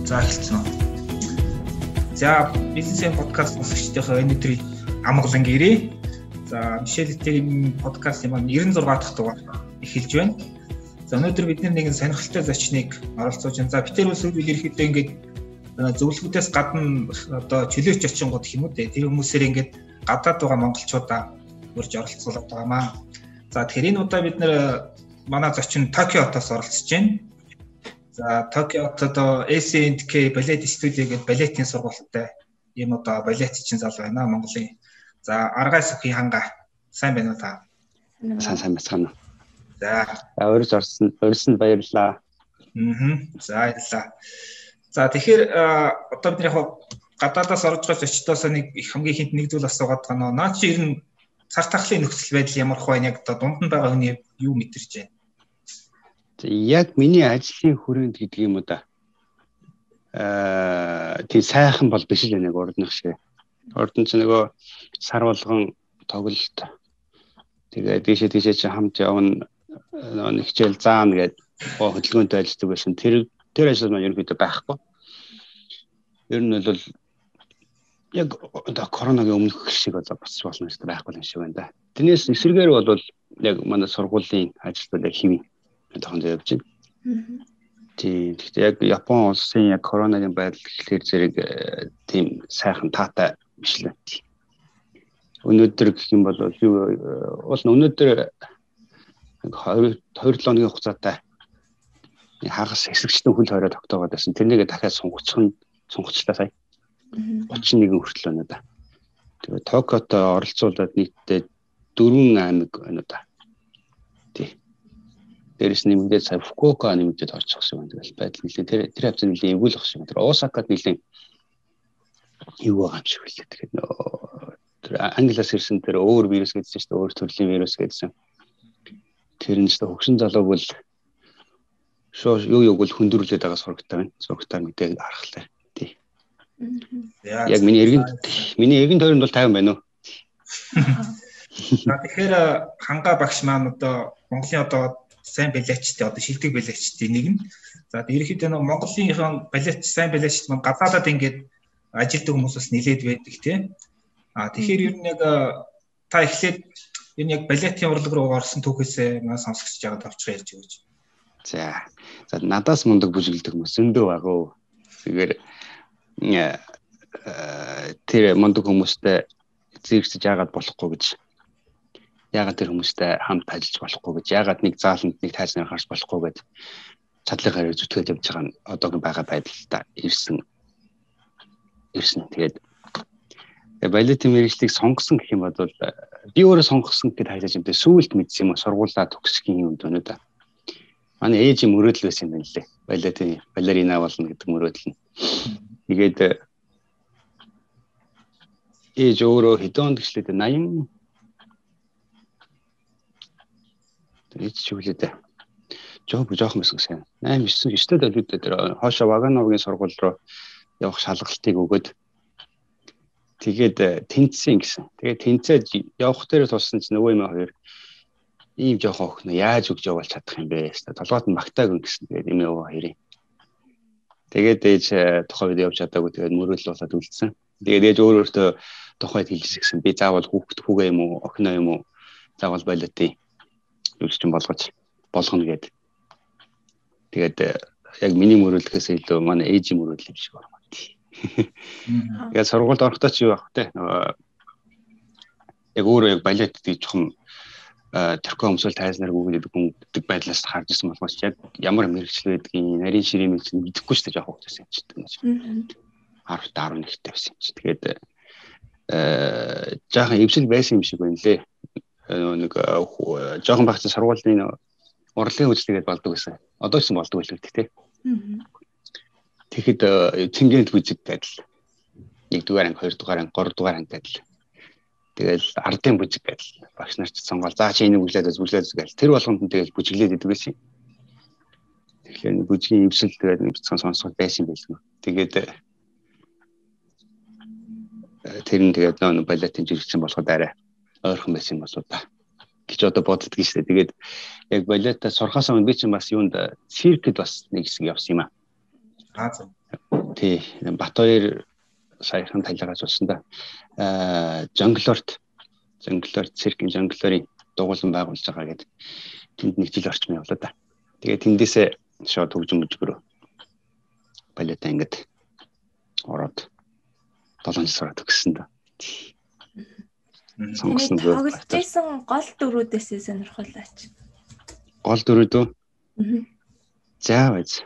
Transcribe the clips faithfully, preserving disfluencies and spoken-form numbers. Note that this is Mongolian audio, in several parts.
За эхэлсэн үү. За бизнесийн подкаст сонсогчдийнхоо энэ өдрийн амгалан гэрээ. За Мишель Литерийн подкастын маань ninety six дахь дугаар эхэлж байна. За өнөөдөр бид нэг сонирхолтой зочныг оролцуулж байна. За би тэр үл ерөөхдөө ингээд зөвлөгүүдээс гадна одоо чөлөөч очингууд гэх юм уу те тэр хүмүүсээр ингээд гадаад байгаа монголчуудаа урьж оролцуулаад байгаамаа. За тэгэхээр энэ удаа бид нэр манай зочин Токиотоос оролцож байна. За Токиот одоо эс энд кей балет студио гэдэг балетын сургуультай ийм одоо балетчин зал байна Монголын. За Аргай Сүхийн ханга сайн байна уу та? Сайн сайн байна. За урьж орсон урьсанд баярлалаа. Аа. За баярлалаа. За тэгэхээр одоо бид яг гадаадаас орж байгаа зочдоос нэг их хамгийн хинт нэг зүйл асуугаад байгаа нөө. Наа чи ер нь цар тахлын нөхцөл байдал ямар хөө яг одоо дунд нь байгаа хүний юу мэдэрч байна? Яг миний ажлын хүрээнд гэдэг юм уу да. Аа тийм сайхан бол биш л нэг урдных шиг. Урд нь ч нөгөө сар болгон тоглолт. Тэгээд дээшээ дээшээ чи хамт явна нэг хичээл заана гэдэг хөдөлгөөнтэй ажилладаг байсан. Тэр тэр ажил маань ерөнхийдөө байхгүй. Ер нь бол яг одоо коронавигийн өмнөх шиг одоо босч болно гэж байхгүй юм шиг байна да. Тэрнээс эсрэгээр бол яг манай сургуулийн ажилтнууд яг хэвэн тохон явж байна. Тийм. Гэхдээ яг Япон улсын яг коронавигийн байдал гэхлээр зэрэг тийм сайхан таатай биш л байна. Өнөөдөр гэх юм бол юу уул өнөөдөр хоёр хоногийн хугацаатай хагас хэсэгчдэн хөл хорой тогтоогоод байсан. Тэрнийгээ дахиад сунгацх нь сунгацлаа сая. thirty-one хүртэл байна да. Тэгээ Токиото оролцуулаад нийтдээ four аймаг байна да. Тий. Дээрээс нэмэгдээд сая Фукуока нэмэгдээд орчих гэсэн юм. Тэгэл байдал нэлээ тэр тэр хавцаа нэлээ эвгүүлэх шиг. Тэр Осакад нэлээ юу байгаа юм шиг үлээ. Тэгэхээр тэр англиас ирсэн тэр өөр вирус гэдсэн чинь өөр төрлийн вирус гэдсэн. Тэр нь ч хөгшин залуу бол шоо юу юуг бол хөндрүүлээд байгаа сурагтай байна. Сурагтаар мэдээ харахлаа. Тий. Яг миний эргэн миний эргэн тойронд бол тайван байна уу? Тэгэхээр ханга багш маань одоо Монголын одоо сайн балетчтэй одоо шилдэг балетчтэй нэг нь. За ерөнхийдөө нэг Монголынхон балет сайн балетчт маань гадаадад ингээд ажилтдаг хүмүүсээс нилээд байдаг тийм. А тэгэхээр ер нь яг та эхлээд ер нь яг балетын урлаг руу орсон түүхээсээ маань сонсогч жагаад авчраа ярьж өгөөч. За. За надаас мундаг бүжиглдэг хүмүүс зөндөө байгаа. Тэгэхээр тэр мундаг хүмүүстэй зэрэгсэж яагаад болохгүй гэж яагаад тэр хүмүүстэй хамт ажиллаж болохгүй гэж яагаад нэг зааланд нэг тайзнаар харж болохгүй гэж чадлынхаар зүтгээд явж байгаа нь одоогийн байгаа байдалтай ирсэн ирсэн. Тэгээд балетын мэргэжлийг сонгосон гэх юм бол би өөрөө сонгосон гэдээ хайлаж юмтэй сүүлд мэдсэн юм сургуулаа төгсөхийн юм дөнөө да. Манай ээж мөрөөдөл байсан юм байна лээ. Балетын балерина болно гэдэг мөрөөдөл нь. Тэгээд ээж өөрөө хэдэн онд гэжлээ eighty Ээж ч үлээдэ. Жоо жоохон байсан гэсэн. eighty-nine9-д төлөвлөдөө тэр хоошо Вагановгийн сургууль руу явах шалгалтыг өгөөд тэгээд тэнцсэн гэсэн. Тэгээд тэнцээд явах дээр туссан ч нөгөө юм хоёр ийм жоохон охин яаж өгж явуулж чадах юм бэ? Толгойд нь магтааг өнгөсөн. Тэгээд эмээ өвөө хоёрын. Тэгээд ээж тухайд явж чадаагүй тэгээд мөрөөлөл болоод үлдсэн. Тэгээд ээж өөр өөртөө тухайд хэлсэн. Би заавал хүүхэд хүүгээ юм уу, охиноо юм уу? Заавал балетын юучин болгож болгоно гэд. Тэгээд яг миний мөрөөлөхөөс илүү манай ээжийн мөрөөлөл юм шиг байна. Тэгээд сургуульд орохдоо ч юу байх вэ? Яг өөрөө яг балет гэдэг жоохон тэрхүү өмсөл тайзнаар гүгддэг гүгддэг байдлаас харж ирсэн болохоос яг ямар мэрэгчлэл байдгийг нарийн ширээмийг ч мэдэхгүй шүү дээ жоохон хөтөсөн юм чинь. ten eleven нэгтэй байсан юм чинь. Тэгээд э жаахан эвсэл байсан юм шиг байна лээ. Нэг жоохон багцсан сургуулийн урлагийн үйлчлэгээд болдог гэсэн. Одоо ч болдог байлгүй тий. Тэгэхэд цэнгэнд бүжиг байдал. нэг дугаар анги, хоёр дугаар анги, гурав дугаар анги байдал. Тэгэл ардын бүжиг байдал. Багш нар ч сонгол. За чи энийг бүжиглээд бүжиглээд гэл. Тэр болгонд нь тэгэл бүжиглээд идэг байсан. Тэгэхээр бүжгийн эвсэл тэгээд бицхан сонсгол байсан байлгүй. Тэгээд тэр нь тэгээд нөө балетын жиргсэн болоход арай ойрхон байсан юм болоо та. Гэж одоо боддог шүү дээ. Тэгээд яг балетаа сурхаас өмнө би чинь бас юунд циркэд бас нэг хэсэг явсан юм аа. Аа зөв. тий Батбаяр саяхан талаагаас болсон да. Аа Жонглорт Жонглорт циркийн жонглорын дугуулсан байгуулж байгаа гэдэг тэнд нэг жил орчим явлаа да. Тэгээд тэндээсээ шууд хөгжим мужигрөө балетаа ингээд ороод долоон жил сураад өгсөн да. Сонгосон тоглож байсан гол дөрүүдээс сонирхолтой. Гол дөрүүд үү? Аа. За байж.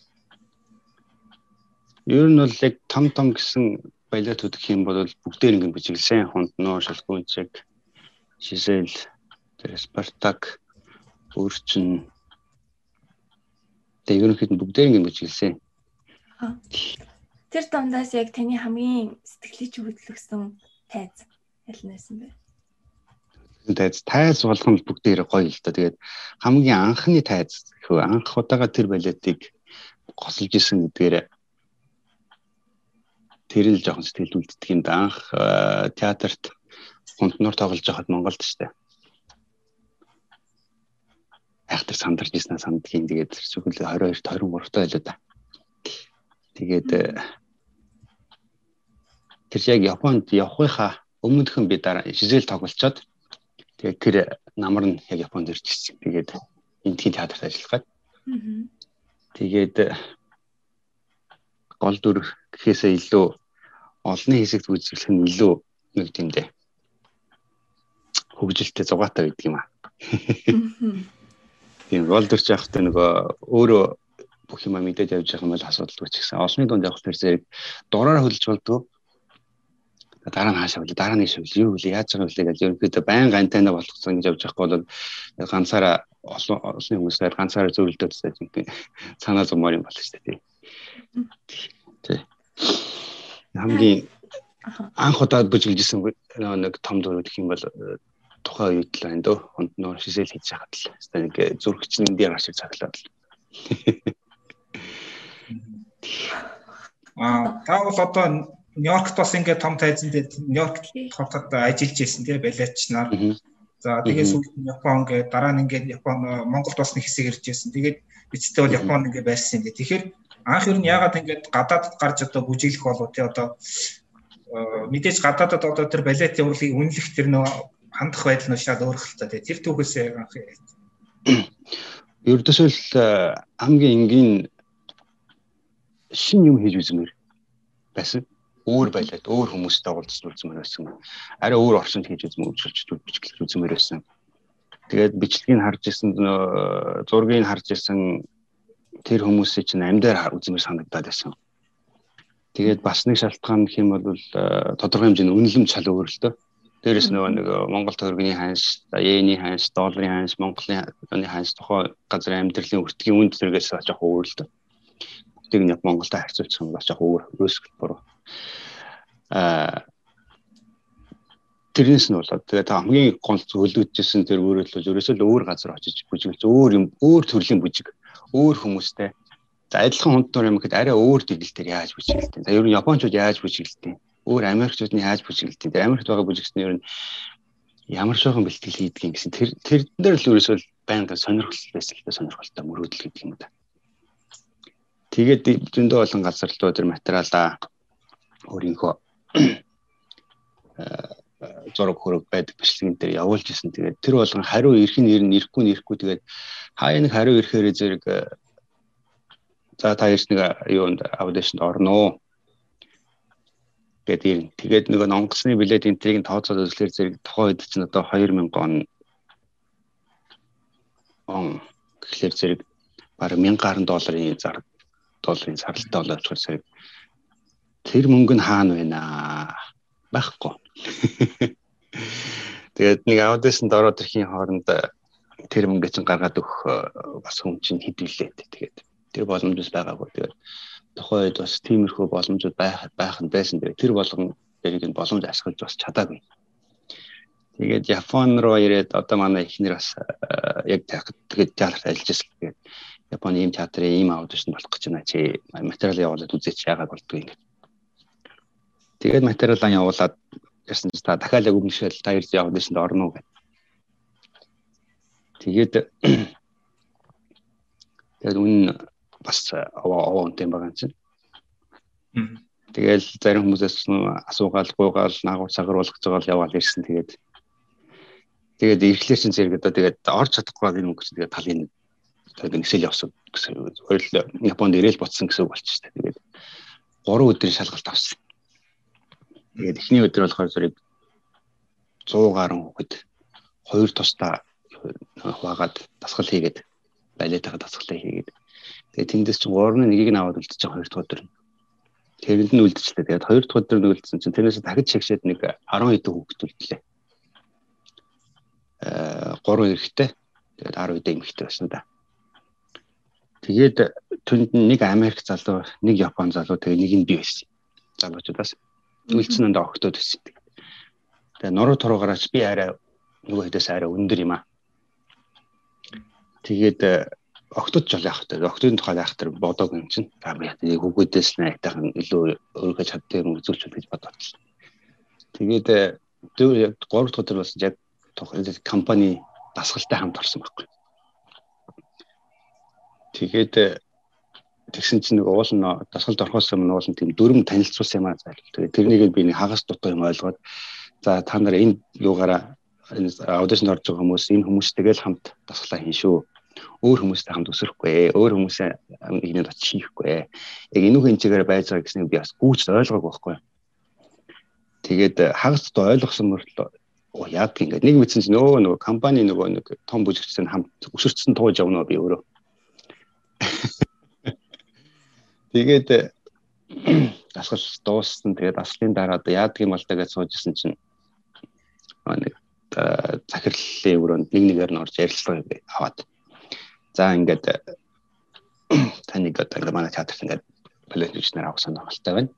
Ер нь бол яг том том гэсэн балетууд гэх юм бол бүгдээр ингэ бичиглсэн. Хонтноо, Шалгуунчиг, Жизель, Спартак, Өрчин. Тэгээ ерөнхийдөө бүгдээр ингэ бичиглсэн. Тэр дундаас яг таны хамгийн сэтгэлийг хөдөлгсөн тайз аль нэсэн бэ? Тайз тайз болгоно бүгдээр гоё л да. Тэгээд хамгийн анхны тайз гэхүү анх удаага тэр балетыг госолж исэн гэдгээр тэр л жоохон сэтгэл үлддэг юм да. Анх театрт хонтноор тоглож байхад Монголд штэ. Ахтар сандарч ирсэн сандгийн тэгээд зөвхөн двадцать two twenty-three байлаа да. Тэгээд тэр яг Японд явахынхаа өмнөхөн би дараа Жизель тоглолцоод тэгээд тэр намар нь яг Японд ирж ирсэн. Тэгээд энтхийн театрт ажиллах гээд. Тэгээд гол дүр гэхээсээ илүү олонний хэсэгт үзүүлэх нь илүү нэг тиймдээ хөгжилтэй зугаатай байдаг юм аа. Тийм гол дүрч явахдаа нөгөө өөрөө бүх юм мэдээд явж байгаа юм бол асуудалгүй ч гэсэн олонний дунд явах тэр зэрэг дураараа хөлж болдгоо. Дараа нь хаашаа вэ? Дараа нь шивл юу вэ? Яаж байгаа вэ гэж ерөнхийдөө байн антенна болгосон гэж явж байхгүй бол ганцаараа олонний хүмүүсээр ганцаараа зөвлөлтөд санаа зумаар юм болно шүү дээ. Тий. Хамгийн анх удаад бүжиглжсэн нэг том дүр гэх юм бол тухайн үед л байна дөө. Хонтноор Жизель хийж хахад л хэвээр нэг зүрхчний дээр ашиг цаглаад л. Аа та бол одоо Нью-Йоркт бас ингээд том тайзан дээр Нью-Йоркт хотод ажиллаж байсан тийм балетчнаар. За тэгээд сүүлд нь Япон ингээд дараа нь ингээд Япон Монголд бас нэг хэсэг ирж байсан. Тэгээд эцэстээ бол Японд ингээд байсан юм. Тэгэхээр анх ер нь яагаад ингээд гадаадд гарч одоо бүжиглэх болов тий одоо мэдээж гадаадд одоо тэр балетын урлагийг үнэлэх тэр нөө хандах байдал нь шал өөрчлөлттэй. Тэр түүхээсээ анх ердөөсөө л хамгийн энгийн шин юм хийж үзмээр байсан. Өөр байлаад өөр хүмүүстэй уулзсан үзмээр байсан. Арай өөр орчинд хийж үзмээр үйлчлж бичлэж үзмээр байсан. Тэгээд бичлэгийг харж исэн зургийг харж исэн тэр хүмүүсийн чинь амьдаар үзмээр санагдаад байсан. Тэгээд бас нэг шалтгаан гэх юм бол тодорхой хэмжээний үнэлэмж шал өөр л дөө. Дээрээс нөгөө нэг Монгол төгрөгийн ханш, йений ханш, долларын ханш, Монголын ханш тухай газрын амьдралын өртгийн үнд зэрэгээс бас жоох өөр л дөө. Тийг нь Монголтой харьцуулчих юм бас жоох өөр өөрсгөл буруу. Аа тэрнээс нь болоод тэгээд хамгийн гол зөвлөгдөжсэн тэр өөрөлдөл ерөөсөө л өөр газар очиж бүжиглэж өөр юм өөр төрлийн бүжиг өөр хүмүүстэй за адилхан хүнд дор юм гэхэд арай өөр дэглэлтээр яаж бүжиглэлтэй. За ер нь Япончууд яаж бүжиглэлтэй. Өөр Америкчууд нь яаж бүжиглэлтэй. Тэр Америкт байгаа бүжигчдийн ер нь ямар шохон бэлтгэл хийдгийг гэсэн тэр тэр дээр л ерөөсөө байнга сонирхол байсан л да сонирхолтой мөрөөдөл гэдэг юм да. Тэгээд зөндөө олон газар руу тэр материалаа өөрийнхөө зураг хөрөг байдаг бичлэгэн дээр явуулж исэн. Тэгээд тэр болгон хариу ирэх нь ирнэ, ирэхгүй нь ирэхгүй. Тэгээд хаяа нэг хариу ирэхээр зэрэг за та ирс нэг юунд аудишнд орно. Тэгээд тэгээд нөгөө онгоцны билет энтрийг тооцоод үзлэхээр зэрэг тухайн үед чинь одоо two thousand он он гэхлээр зэрэг бараг one thousand долларын зар долларын саралтай болоод болохоор зэрэг тэр мөнгө нь хаана байна байхгүй. Тэгээд нэг аудишнд ороод ирэхийн хооронд тэр мөнгө чинь гаргаад өгөх бас хүн чинь хэдүүлээ. Тэгээд тэр боломжтой байгаагүй. Тэгээд тухайн үед бас тиймэрхүү боломжууд байх байх нь байсан. Тэр болгон тэрийг нь боломж ашиглаж бас чадаагүй. Тэгээд Япон руу ирээд одоо манай эхнэр бас яг тэгээд театрт ажиллаж байсан. Тэгээд Японы ийм театрын ийм аудишнд болох гэж байна чи материал явуулаад үзээч яагаад болдгоо ингэ. Тэгээд материалаа явуулаад ярьсан чи та дахиад яг өмнөшөл та ирж аудишнд орно уу гэдэг. Тэгээд тэгээд үн бас аваа аваа үнтэй байгаа юм чинь. Тэгэл зарим хүмүүсээс асуугаал, гуйгаал, наагур цагаар болгож байгаа л яваал ирсэн. Тэгээд тэгээд ирэхлээр чинь зэрэг одоо тэгээд орж чадахгүй энэ мөнгө чинь тэгээд талын тэгээд нэгсэл явсан гэсэн. Хоёул Японд ирээл буцсан гэсэн үг болчихсон. Тэгээд гурван өдрийн шалгалт авсан. Тэгээд эхний өдөр болохоор зэрэг сто гаруй хүүхэд хоёр тусдаа хуваагаад дасгал хийгээд балетаа дасгалаа хийгээд тэгээд тэндээс чинь гурван нэгийг нь аваад үлдчихэж хоёр дахь өдөр. Тэрэнд нь үлдчихлээ. Тэгээд хоёр дахь өдөр нь үлдсэн чинь тэрнээс дахиж шигшээд нэг арван хэдэн хүүхэд үлдлээ. Э гурван эрэгтэй тэгээд арав хэдэн эмэгтэй байсан да. Тэгээд түнд нэг Америк залуу, нэг Япон залуу тэгээд нэг нь би байсан. Залуучуудаас үлдсэн нь огтод байсан. Тэгээд нуруу туруугаараач би арай нөгөө хэдээс арай өндөр юм аа. Тэгээд огтод жол яах вэ? Огтодын тухай яах тэр бодог юм чинь. Тэгээд хүүхдээс найтайхан илүү өөргөө чаддаг юм үзүүлчих гэж бодоод. Тэгээд тэр гурав дахь өдөр бас яг компани дасгалтай хамт орсон байхгүй. Тэгээд тэгсэн чинь нэг уул нь дасгалд орохоос өмнө уул нь тийм дөрөв танилцуулсан юм аа зайл. Тэгээд тэрнийг би нэг хагас дутуу юм ойлгоод за та нар энэ юугаараа энэ аудишнд орж байгаа хүмүүс энэ хүмүүстэйгээ л хамт дасгалаа хийн шүү. Өөр хүмүүстэй хамт өсөхгүй, өөр хүмүүсээ нэгнээ очиж хийхгүй. Яг энүүхэн чигээр байж байгаа гэснийг би бас гүйж ойлгоогүй байхгүй. Тэгээд хагас дутуу ойлгосон мөртлөө оо яад гингээд нэг мэдсэн чинь өө нөгөө компани нөгөө нэг том бүжигчтэй хамт өсөрчсөн тууж явна би өөрөө. Тэгээд дасгал дууссан. Тэгээд дасгалын дараа одоо яадаг юм бол тэгээд суужсэн чинь нэг захирлын өрөөнд нэг нэгээр нь орж ярилцлага аваад за ингээд таныг одоо ингээд манай театрт ингээд балетчнэр авах сонирхолтой байна.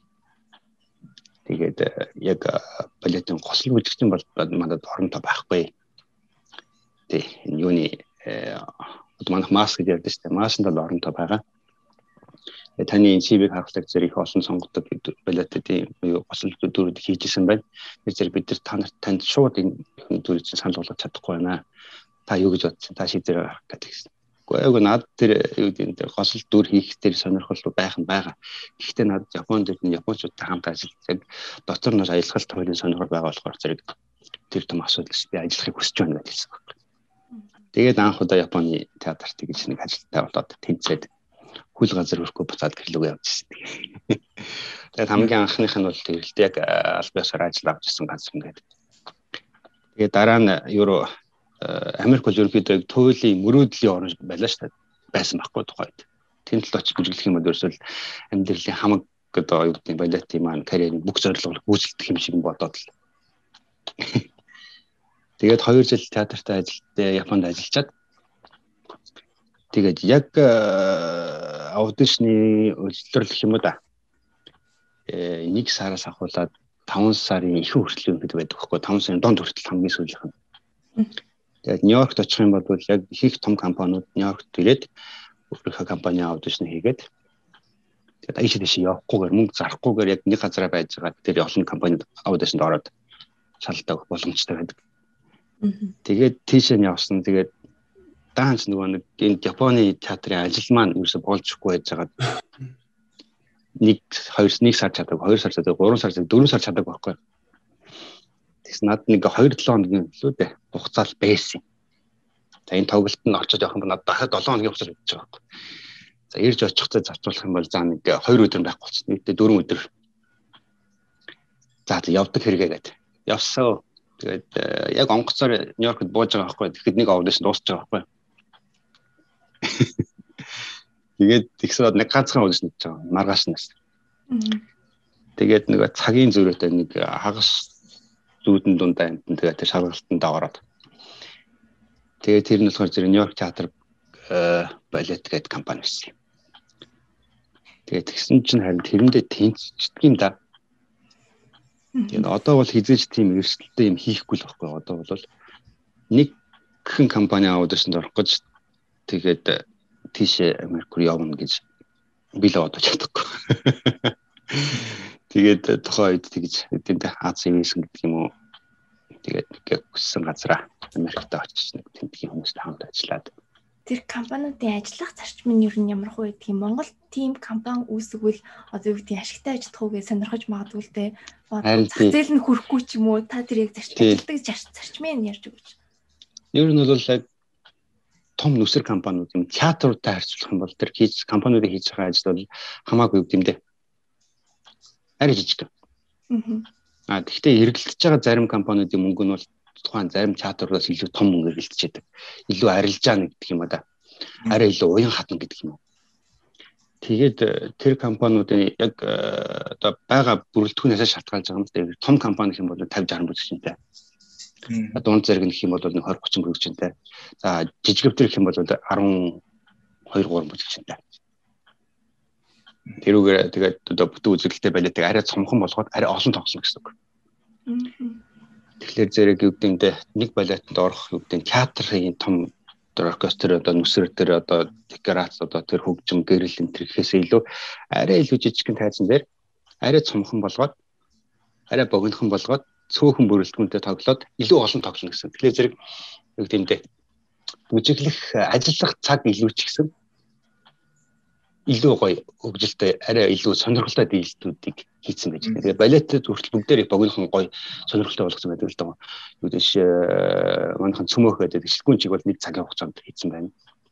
Тэгээд яг балетын госол бүжигчин бол манад оронтой байхгүй. Тэ энэ юуны одоо манайх маск гэж ярьдаг шүү дээ. Маасанд бол оронтой байгаа. Таны энэ си ви-г харахад зэрэг их олон сонгодог балетын госол дүрүүд хийжсэн байна. Тэр зэрэг бид нар та нарт танд шууд энэ дүрийг санал болгож чадахгүй байна. Та юу гэж бодсон? Та шийдвэр гаргах гэдэг. Гэхдээ яг над тэр юу гэдэг госол дүр хийх тэр сонирхол байх нь байгаа. Гэхдээ над Японд энэ японочдтой хамт ажиллаж дотор нь аялгалт хуулийн сонирхол байгаа болохоор зэрэг тэр том асуудал шүү. Би ажиллахыг хүсэж байна гэж хэлсэн байна. Тэгээд анх удаа Японы театрт гэж нэг ажилтаа болоод тэнцээд хөл газар өрөхгүй буцаад гэрлүүгээ явж ирсэн. Тэгээд хамгийн анхных нь бол тэгэл яг аль биесээр ажил авч ирсэн ганц юм гэдэг. Тэгээд дараа нь евро Америк бол ерөнхийдөө туйлын мөрөөдлийн орн байлаа шүү дээ. Байсан байхгүй тухайд. Тэнд л очиж бүжиглэх юм бол ерөөсөл амьдралын хамаг одоо юу гэдэг нь балетын маань карьерийн бүх зорилгыг гүйцэлдэх юм шиг бодоод л. Тэгээд хоёр жил театртаа ажиллаад Японд ажиллаад тэгээд яг аудишны үйлчлэл гэх юм уу да. Э нэг сараас ахуулаад таван сарын их хүртэл юм байдаг байхгүй. таван сарын донд хүртэл хамгийн сүүлийнх нь. Тэгээд Нью-Йоркт очих юм бол яг их том компаниуд Нью-Йоркт ирээд өөрийнхөө компани аудишн хийгээд тэгээд аяж дэше явахгүйгээр мөнгө зарахгүйгээр яг нэг газараа байж байгаа тэр олон компанид аудишнд ороод шалдаг боломжтой байдаг. Тэгээд тийш нь явсан. Тэгээд даанч нөгөө нэг энэ Японы театрын ажил маань ерөөсө болжгүй байж байгаа. Нэг хоёр нэг сар чаддаг, хоёр сар чаддаг, гурван сар чаддаг, дөрвөн сар чаддаг байхгүй. Тэгс над нэг хоёр долоо хоногийн лөө дээ. Хугацаал байсан. За энэ тоглолтод нь орчод явах юм бол надад дахиад долоо хоногийн хугацаа өгч байгаа байхгүй. За ирж очихтой зарцуулах юм бол за нэг хоёр өдөр байх болчихсон. Нийтдээ дөрвөн өдөр. За явдаг хэрэгээгээд явсаа. Тэгээд яг онгоцоор Нью-Йоркт бууж байгаа байхгүй. Тэгэхэд нэг аудишн дуусч байгаа байхгүй. Тэгээд тэгсээд нэг ганцхан аудишн хийж байгаа. Маргааш нас. Тэгээд нэг цагийн зөрөөтэй нэг хагас зүүдэн дундаа энэ тэгээд тэр шалгалтанд ороод. Тэгээд тэр нь болохоор зэрэг Нью-Йорк театр балет гэдэг компани байсан. Тэгээд тэгсэн чинь харин тэрэндээ тэнцчдэг юм да. Тэгээд одоо бол хизээж тийм эрсдэлтэй юм хийхгүй л байхгүй. Одоо бол нэг хэн компани аудишнд орох гэж тэгээд тийшээ Америк руу явна гэж би л бодож чадахгүй. Тэгээд тухайн үед тэгж тэнд Аз Эвисэн гэдэг юм уу. Тэгээд гүйсэн газараа Америкт очиж нэг тэмдгийн хүмүүстэй хамт ажиллаад. Тэр компаниудын ажиллах зарчим нь ер нь ямар хөө гэдэг юм? Монголд team компани үүсгвэл одоо юу гэдэг ашигтай ажиллах уу гэж сонирхож магадгүй л дээ. Зах зээл нь хүрэхгүй ч юм уу та тэр яг ажилтдаг зарчмын ярьж өгөөч. Ер нь бол яг том нүсэр компаниуд юм театруудтай харьцуулах юм бол тэр хийж компаниудыг хийж байгаа ажил бол хамаагүй юм дээ. Арай жижиг. Аа гэхдээ эргэлдэж байгаа зарим компаниудын мөнгө нь бол тухайн зарим театруулаас илүү том мөнгө эргэлдэж байдаг. Илүү арилж байгаа гэдэг юм да. Арай илүү уян хатна гэдэг юм. Тэгээд тэр компаниудын яг одоо байгаа бүрэлдэхүүнээс шалтгаалж байгаа юм дээр том компани гэх юм бол тавьж арван бүсгчтэй. Дунд зэрэг гэх юм бол нэг двадцать тридцать бүсгчтэй. За жижигвтер гэх юм бол арван two three бүсгчтэй. Тэрүүгээр тэгээд одоо бүтэн үзэгдэлтэй байлаадаг арай цомхон болгоод арай олон тоглоно гэсэн үг. Тэгэхээр зэрэг юу гэмдэ нэг балетанд орох юу гэмдэ театрын том оркестр одоо нүсэр тэр одоо декорац одоо тэр хөгжим гэрэл энэ төрхөөсөө илүү арай илүү жижигхэн тайзан дээр арай цомхон болгоод арай богинохон болгоод цөөхөн бүрэлдэхүүнтэй тоглоод илүү олон тоглоно гэсэн. Тэгэхээр зэрэг юу гэмдэ бүжиглэх ажиллах цаг илүү ч гэсэн илүү гоё хөгжилтэй арай илүү сонирхолтой дийлтүүдийг хийсэн байж байгаа. Тэгээд балетд хүртэл бүгдээрээ богинохон гоё сонирхолтой болгосон байдаг л даа. Юу дэш манайхан цөмөөх байдаг шилгүүн чиг бол нэг цагийн хугацаанд хийсэн байна.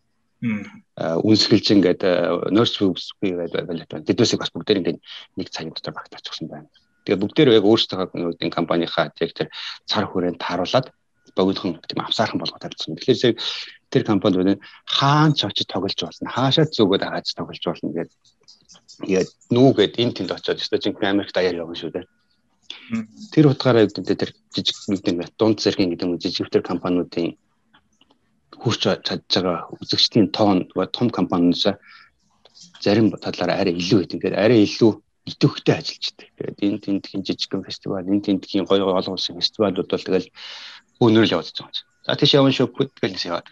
Аа үнсгэлж ингээд nurse boobs гэдэг балет байна. Тэднээсээ бас бүгдээр ингээд нэг цагийн дотор багтаачихсан байна. Тэгээд бүгдээрээ яг өөрсдөө нүүдийн компанийнхаа яг тэр цар хүрээнд тааруулаад богинохон тийм авсаархан болгоод тавьсан. Тэгэхээр тэр компаниуд хаан ч очиж тоглож болно. Хаашаа зүгөөд хааж тоглож болно гэдэг. Тэгээд нүүгээд энэ тэнд очиод өстой чинь Америкт даяар явна шүү дээ. Тэр утгаараа үүдээ тэр жижиг нүдэн дунд зэргийн гэдэг нь жижигвтер компаниудын хурц чадж байгаа үзэгчдийн тоон том компаниудаас зарим талаараа арай илүү гэдэг. Ингээд арай илүү идэвхтэй ажиллаж байдаг. Тэгээд энэ тентхийн жижигхэн фестивал, энэ тентхийн гоё гоё олон улсын фестивалууд бол тэгэл өнөөрөл яваад байгаа юм. За тийш явна шүү гэдгэлээс яваад.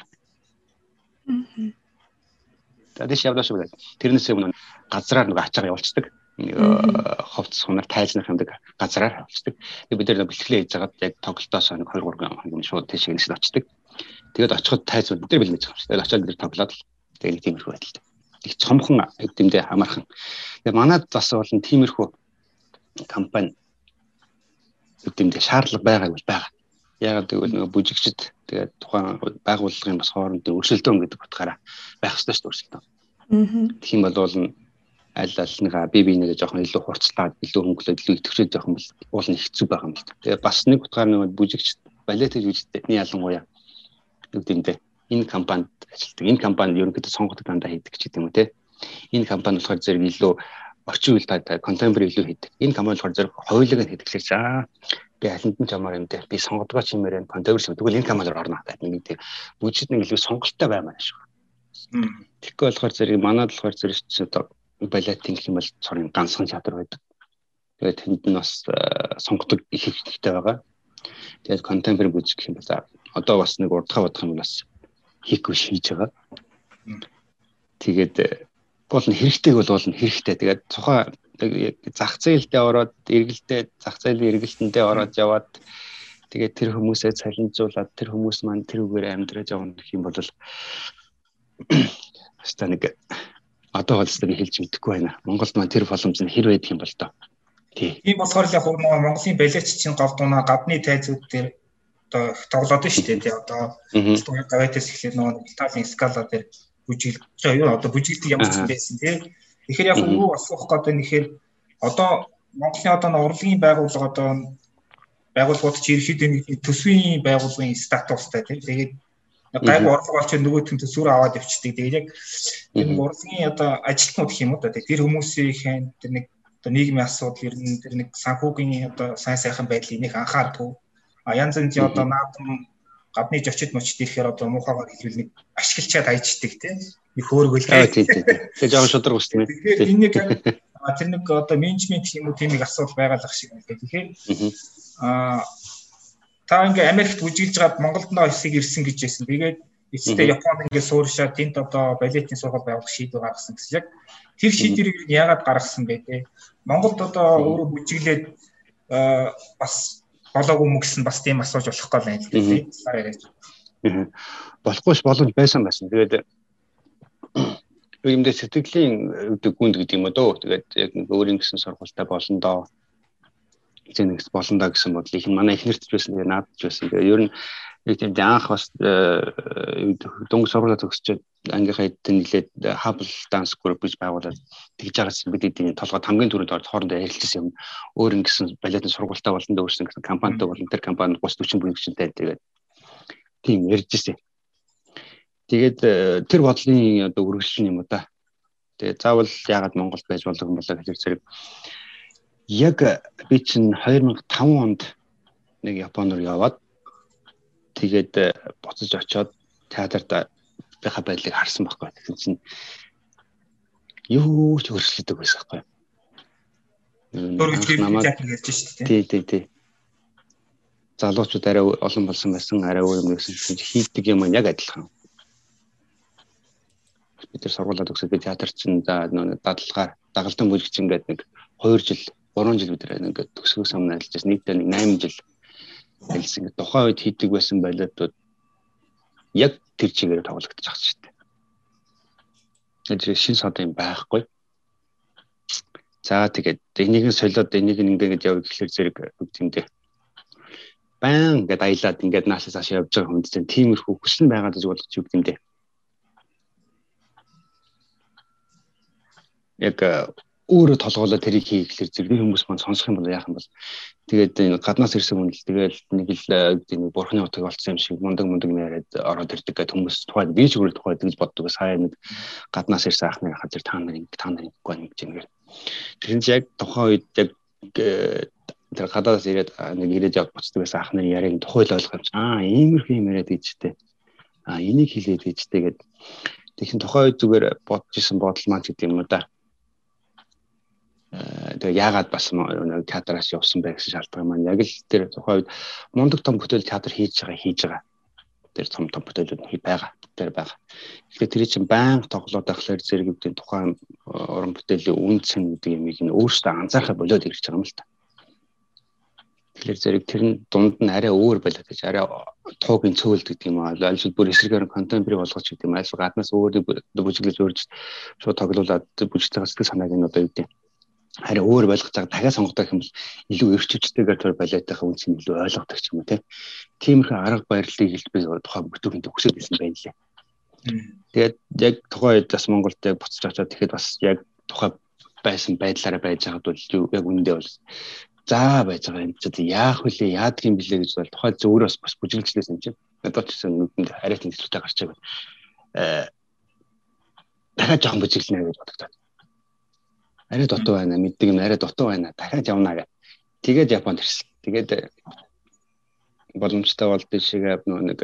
За тийш явлаа шүү гэдэг. Тэрнээс өмнө газраар нэг ачаага явуулцдаг. Нэг ховц сунаар тайлнах юмдаг газраар явуулцдаг. Тэгээд бид нэр бэлтгэлээ хийж байгаад яг тоглолтоос нэг two three хоног шууд тийш гэнэсд очдөг. Тэгээд очиход тайзууд бид нар бэлмэж байгаа юм. Тэгээд очиод бид тоглоод л тэгээд нэг тиймэрхүү байдалтай. Их цомхон хэвдэмдээ хамаархан. Тэгээд манайд бас бол тиймэрхүү компани хэвдэмдээ шаардлага байгааг бол байгаа. Яг тэгвэл нөгөө бүжигчд тэгээд тухайн байгууллагын бас хоорондын өрсөлдөөн гэдэг утгаараа байх ёстой шүү дээ өрсөлдөөн. Аа. Тэгэх юм бол аль альныгаа бие биенээ жоохон илүү хурцлаад, илүү хөнгөлөд, илүү идэвхжээд явах юм бол уул нь хэцүү байгаа юм л да. Тэгээд бас нэг утгаар нөгөө бүжигчд балет хийж үжигдээ ялангуяа үгдэмдээ энэ компанид ажилладаг. Энэ компанид ерөнхийдөө сонгодог дандаа хийдэг ч гэдэг юм уу те. Энэ компани болохоор зэрэг илүү орчин үеийн та contemporary илүү хийдэг. Энэ компани болохоор зэрэг хоёулыг нь хийдэг лээ за. Би алинд нь жамаар юм дээр би сонгодгоо чимээр энэ contemporary тэгвэл энэ компанид орно гэдэг нэг тийм бүжид нэг илүү сонголттой баймаа шүү. Тэгэхгүй болохоор зэрэг манайд болохоор зэрэг ч одоо балетын гэх юм бол цорын ганцхан театр байдаг. Тэгээд тэнд нь бас сонгодог их хэрэгтэй байгаа. Тэгээд contemporary бүжиг гэх юм бол одоо бас нэг урдхаа бодох юм бас хийхгүй шийдэж байгаа. Тэгээд бол нь хэрэгтэйг бол болно хэрэгтэй. Тэгээд тухайн зах зээлдээ ороод эргэлдээ зах зээлийн эргэлтэндээ ороод яваад тэгээд тэр хүмүүсээ цалинжуулаад тэр хүмүүс маань тэр үгээр амьдраж явна гэх юм бол хаста нэг одоо болсоо би хэлж мэдэхгүй байна. Монголд маань тэр боломж нь хэр байдаг юм бол доо. Тий. Тийм болохоор л яг нөгөө Монголын балетч чинь голдуунаа гадны тайзууд дээр одоо тоглоод шүү дээ. Тий одоо гавайтас эхлээд нөгөө Италийн скала дээр бүжиглэж юу одоо бүжиглдэг ямар ч юм байсан тий. Тэгэхээр яг юу асуух гэдэг нь ихээр одоо Монголын одоо урлагийн байгууллага одоо байгууллагууд чи ерөөхдөө нэг төсвийн байгууллагын статустай тий. Тэгээд гайг урлаг болч нөгөөтгөн төсвөр аваад явчихдаг. Тэгээд яг энэ урлагийн одоо ажилтнууд гэх юм уу да тэр хүмүүсийн тэр нэг одоо нийгмийн асуудал ер нь тэр нэг санхүүгийн одоо сайн сайхан байдлыг нэг анхаардаг. А янз янз одоо наадам гадны зочид мочид ирэхээр одоо муухайгаар хэлбэл нэг ашиглчаад хайчдаг тийм нэг хөөргөл тийм тийм тийм жоохон шудраг үстэнэ. Тэгэхээр энэ нэг тэр нэг одоо менежмент юм уу тийм нэг асуудал байгалах шиг байна. Тэгэхээр а та ингээ Америкт бүжиглж гад Монголд нөө хэсэг ирсэн гэж байсан. Тэгээд эцэстээ Японд ингээ сууршаад тэнд одоо балетийн сургууль байгуулах шийдвэр гаргасан гэсэн. Яг тэр шийдвэрийг яагаад гаргасан бэ те? Монголд одоо өөрөө бүжиглээд бас болоогүй мө гэсэн бас тийм асууж болохгүй байна л дээ. Болохгүй ш боломж байсан байсан. Тэгээд юмдээ сэтгэлийн гүнд гэдэг юм дөө. Тэгээд яг нэг өөрийн гэсэн сургуультай болно доо. Эцэг болно доо гэсэн бодлоо их манай ихнэрт ч байсан тэгээд наадч байсан. Тэгээд ер нь яг тийм анх бас дөнгөж сургуулаа төгсчөөд ангийнхаа эдэн нэлээд Hubble Dance Group гэж байгуулад тэгж байгаас бид эдийн толгойд хамгийн түрүүнд орж хоорондоо ярилцсан юм. Өөр ингэсэн балетын сургуультай болон дөрсөн гэсэн компанитай болон тэр компани гус хүчин бүрэлдэхүүнтэй тэгээд тийм ярьж ирсэн. Тэгээд тэр бодлын одоо үргэлжлэл юм уу та. Тэгээд заавал яагаад Монголд байж болдог юм болоо гэж зэрэг яг би чинь two thousand five онд нэг Японоор яваад тэгээд буцаж очиод театрт байха байдлыг харсан байхгүй. Тэгэхээр чинь юу ч өөрчлөгдөж байсан байхгүй. Өөрөөр хэлбэл театр ярьж шүү дээ. Тий, тий, тий. Залуучууд арай олон болсон байсан, арай өөр юм гэсэн хийдэг юм яг адилхан. Бид тэр сургуулаад өгсөд театр чинь за нэг дадлгаар дагалдан бүлэгч ингээд нэг two жил, three жил бид нэг төгсгөөс өмнө ажиллаж нийтдээ нэг eight жил хэлсэн. Тухайн үед хийдэг байсан балетууд яг тэр чигээр тоглогдож байгаа шүү дээ. Тэр шин сод юм байхгүй. За тэгээд энийг нь солиод энийг нь ингээд явж гэхэлэр зэрэг үгтэмдээ. Баан гэдээ аялаад ингээд наашаас хашаа явж байгаа хүнд чинь тиймэрхүү хүсэл байгаад гэж болгож үгтэмдээ. Яг өөрөө толгоолоо тэрийг хий гэхэлэр зэрэг хүмүүс маань сонсох юм бол яах юм бол тэгээд энэ гаднаас ирсэн хүн л тэгээд нэг л нэг бурхны утгыг олцсон юм шиг мундаг мундаг яриад ороод ирдэг гэдэг хүмүүс тухайд би ч өөрөө тухайд гэж боддог. Сая нэг гаднаас ирсэн ахныг хахад та нар ингэ та нар ингэгүй нэг юм гээд тэр нь яг тухайн үед яг тэр гадаас ирээд нэг ирээд яг буцдаг байсан ахныг яриаг тухайл ойлгох юм чи аа иймэрхүү юм яриад ичтэй аа энийг хэлээд ичтэй гээд тэгэхээр тухайн үед зүгээр бодож исэн бодол маань гэдэг юм уу да. Тэгээ яагаад бас нэг театраас явсан байх гэсэн шалтгаан маань яг л тэр тухайн үед мундаг том бүтээл театр хийж байгаа хийж байгаа. Тэр том том бүтээлүүд хий байгаа. Тэр байгаа. Тэгэхээр тэр чинь байнга тоглоод байхлаар зэрэгүүдийн тухайн уран бүтээлийн үнцэн гэдэг юмыг нь өөрсдөө анзаархаа болоод ирж байгаа юм л та. Тэгэхээр зэрэг тэр нь дунд нь арай өөр болоод гэж арай туугийн цөөлд гэдэг юм аа. Альшил бүр эсрэгээр контемпори болгож гэдэг юм. Альшил гаднаас өөрийг бүжиглэж өөрж шууд тоглуулад бүжигтэй сэтгэл санааг нь одоо юу гэдэг харин өөр болгож байгаа дахиад сонгодог юм бол илүү эрчивчтэйгээр тэр балетынхаа үнс нь илүү ойлгодог ч юм уу тиймэрхүү арга барилыг л би тухайн бүтээхэнд хүсэж байсан байна лээ. Тэгээд яг тухайн үед бас Монголд яг буцаж очоод тэгэхэд бас яг тухайн байсан байдлаараа байж байгаад бол яг үндэ бол заа байж байгаа юм чи яах вүлээ яадаг юм блэ гэж бол тухайн зөөрөөс бас бүжиглжлээс юм чи надад ч нүдэнд арайт нэслэлтэй гарч байгаа. Э дахиад жоохон бүжиглэнэ гэж бодогдоод. Арай дотоо байна мэддэг юм арай дотоо байна дахиад явна гэх. Тэгээд Японд ирсэн. Тэгээд боломжтой бол тийшээ нэг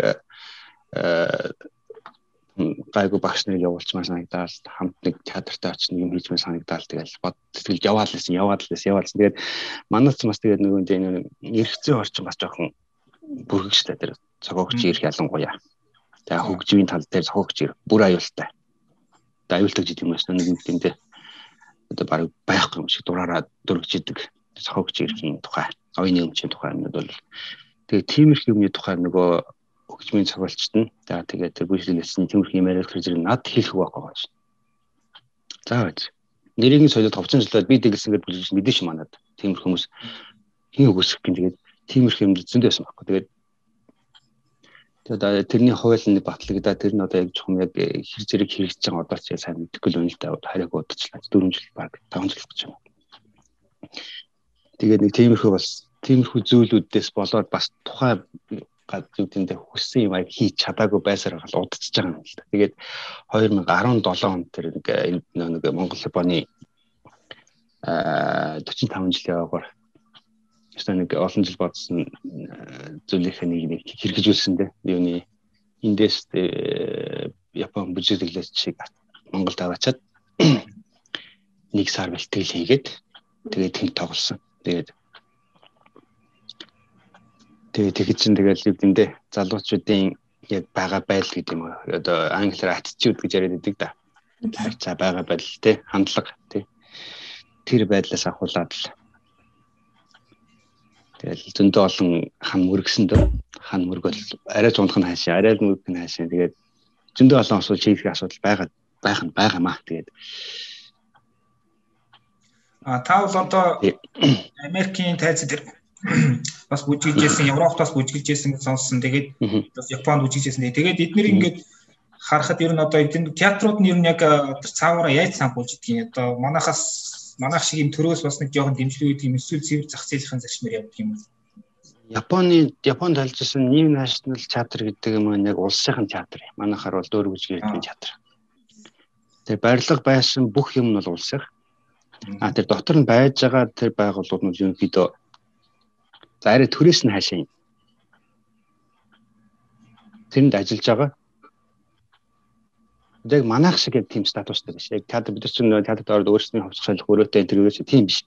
гайгүй багш нарыг явуулчмаар санагдаад хамт нэг театртаа очиж нэг юм хийжмээр санагдаад тэгэл бод тэгэл яваад лсэн яваад лсэн яваад лсэн. Тэгээд манайч бас тэгээд нөгөө энэ эргэцээ орчин бас жоохон бүргэгчтэй тэр цогоогч ирэх ялангуяа. Тэгээд хөгжмийн тал дээр цогоогч ир бүр аюултай. Тэгээд аюултай гэдэг юм байна нэг юм гэмтэй. Одоо баг байхгүй юм шиг дураараа дөргижидэг цохогч ирэхийн тухай оюуны өмчийн тухай юмуд бол тэгээ тиймэрхүү юмны тухай нөгөө хөгжмийн цогцолчт нь за тэгээ тэр бүжиглэлсэн тиймэрхүү юм яриад тэр зэрэг над хэлэх байхгүй байна. За байж нэрийг нь солиод товчон жилээр би дэглэсэн гэж бүжиглэж мэдэн ш манад тиймэрхүү хүмүүс хин өгсөх гин тэгээд тиймэрхүү юм зөндөө байсан байхгүй. Тэгээд тэгээд тэрний хууль нь батлагдаа тэр нь одоо яг жоохон яг хэр зэрэг хэрэгжиж байгаа одоо ч сайн мэдэхгүй л юм л да харийг удаачлаа four жил баг five жил гэж юм. Тэгээд нэг тиймэрхүү бас тиймэрхүү зүйлүүдээс болоод бас тухайн гадуудэндээ хүссэн юм аяг хийж чадаагүй байсаар гал удацж байгаа юм л да. Тэгээд twenty seventeen онд тэр нэг нэг Монгол Японы аа forty-five жилийн яваагаар Эсвэл нэг олон жил бодсон зүйлийнхээ нэг нэг хэрэгжүүлсэн дээ. Юуны эндээс Япон бүжиглэлч шиг Монголд аваачаад нэг сар бэлтгэл хийгээд тэгээд тэнд тоглосон. Тэгээд тэгээд тэгэд чинь тэгэл юу гэмдэ залуучуудын яг байгаа байдал гэдэг юм уу. Одоо англиар attitude гэж яриад байдаг да. За байгаа байдал те хандлага те тэр байдлаас ахуулаад л тэгэл зөндөө олон хан мөргсөн дөө хан мөргөл арай зундах нь хаашаа арай мөргөх нь хаашаа тэгээд зөндөө олон асуудал шийдэх асуудал байгаа байх нь байгаамаа. Тэгээд а та бол одоо Америкийн тайз дээр бас бүжиглэжсэн, Европоос бүжиглэжсэн гэж сонссон. Тэгээд бас Японд бүжиглэжсэн. Тэгээд эдгээр ингээд харахад ер нь одоо эдгээр театрууд нь ер нь яг цаагаараа яаж санхуулж идгийг одоо манайхаас манайх шиг юм төрөөс бас нэг жоохон дэмжлэг өгдөг юм эсвэл цэвэр зах зээлийн зарчмаар явдаг юм. Японы Японд ажилласан New National Theatre гэдэг юм яг улсын театр. Манайхаар бол дөөр бүжиглэдэг театр. Тэр барилга байсан бүх юм нь бол улсын. А тэр дотор нь байж байгаа тэр байгууллагууд нь ерөнхийдөө за арай төрөөс нь хаашаа юм. Тэнд ажиллаж байгаа. Яг манайх шиг яг тийм статустай биш. Яг театр бид чинь театрт ороод өөрсдийн хувьцах шалах өрөөтэй тэр ерөөсөө тийм биш.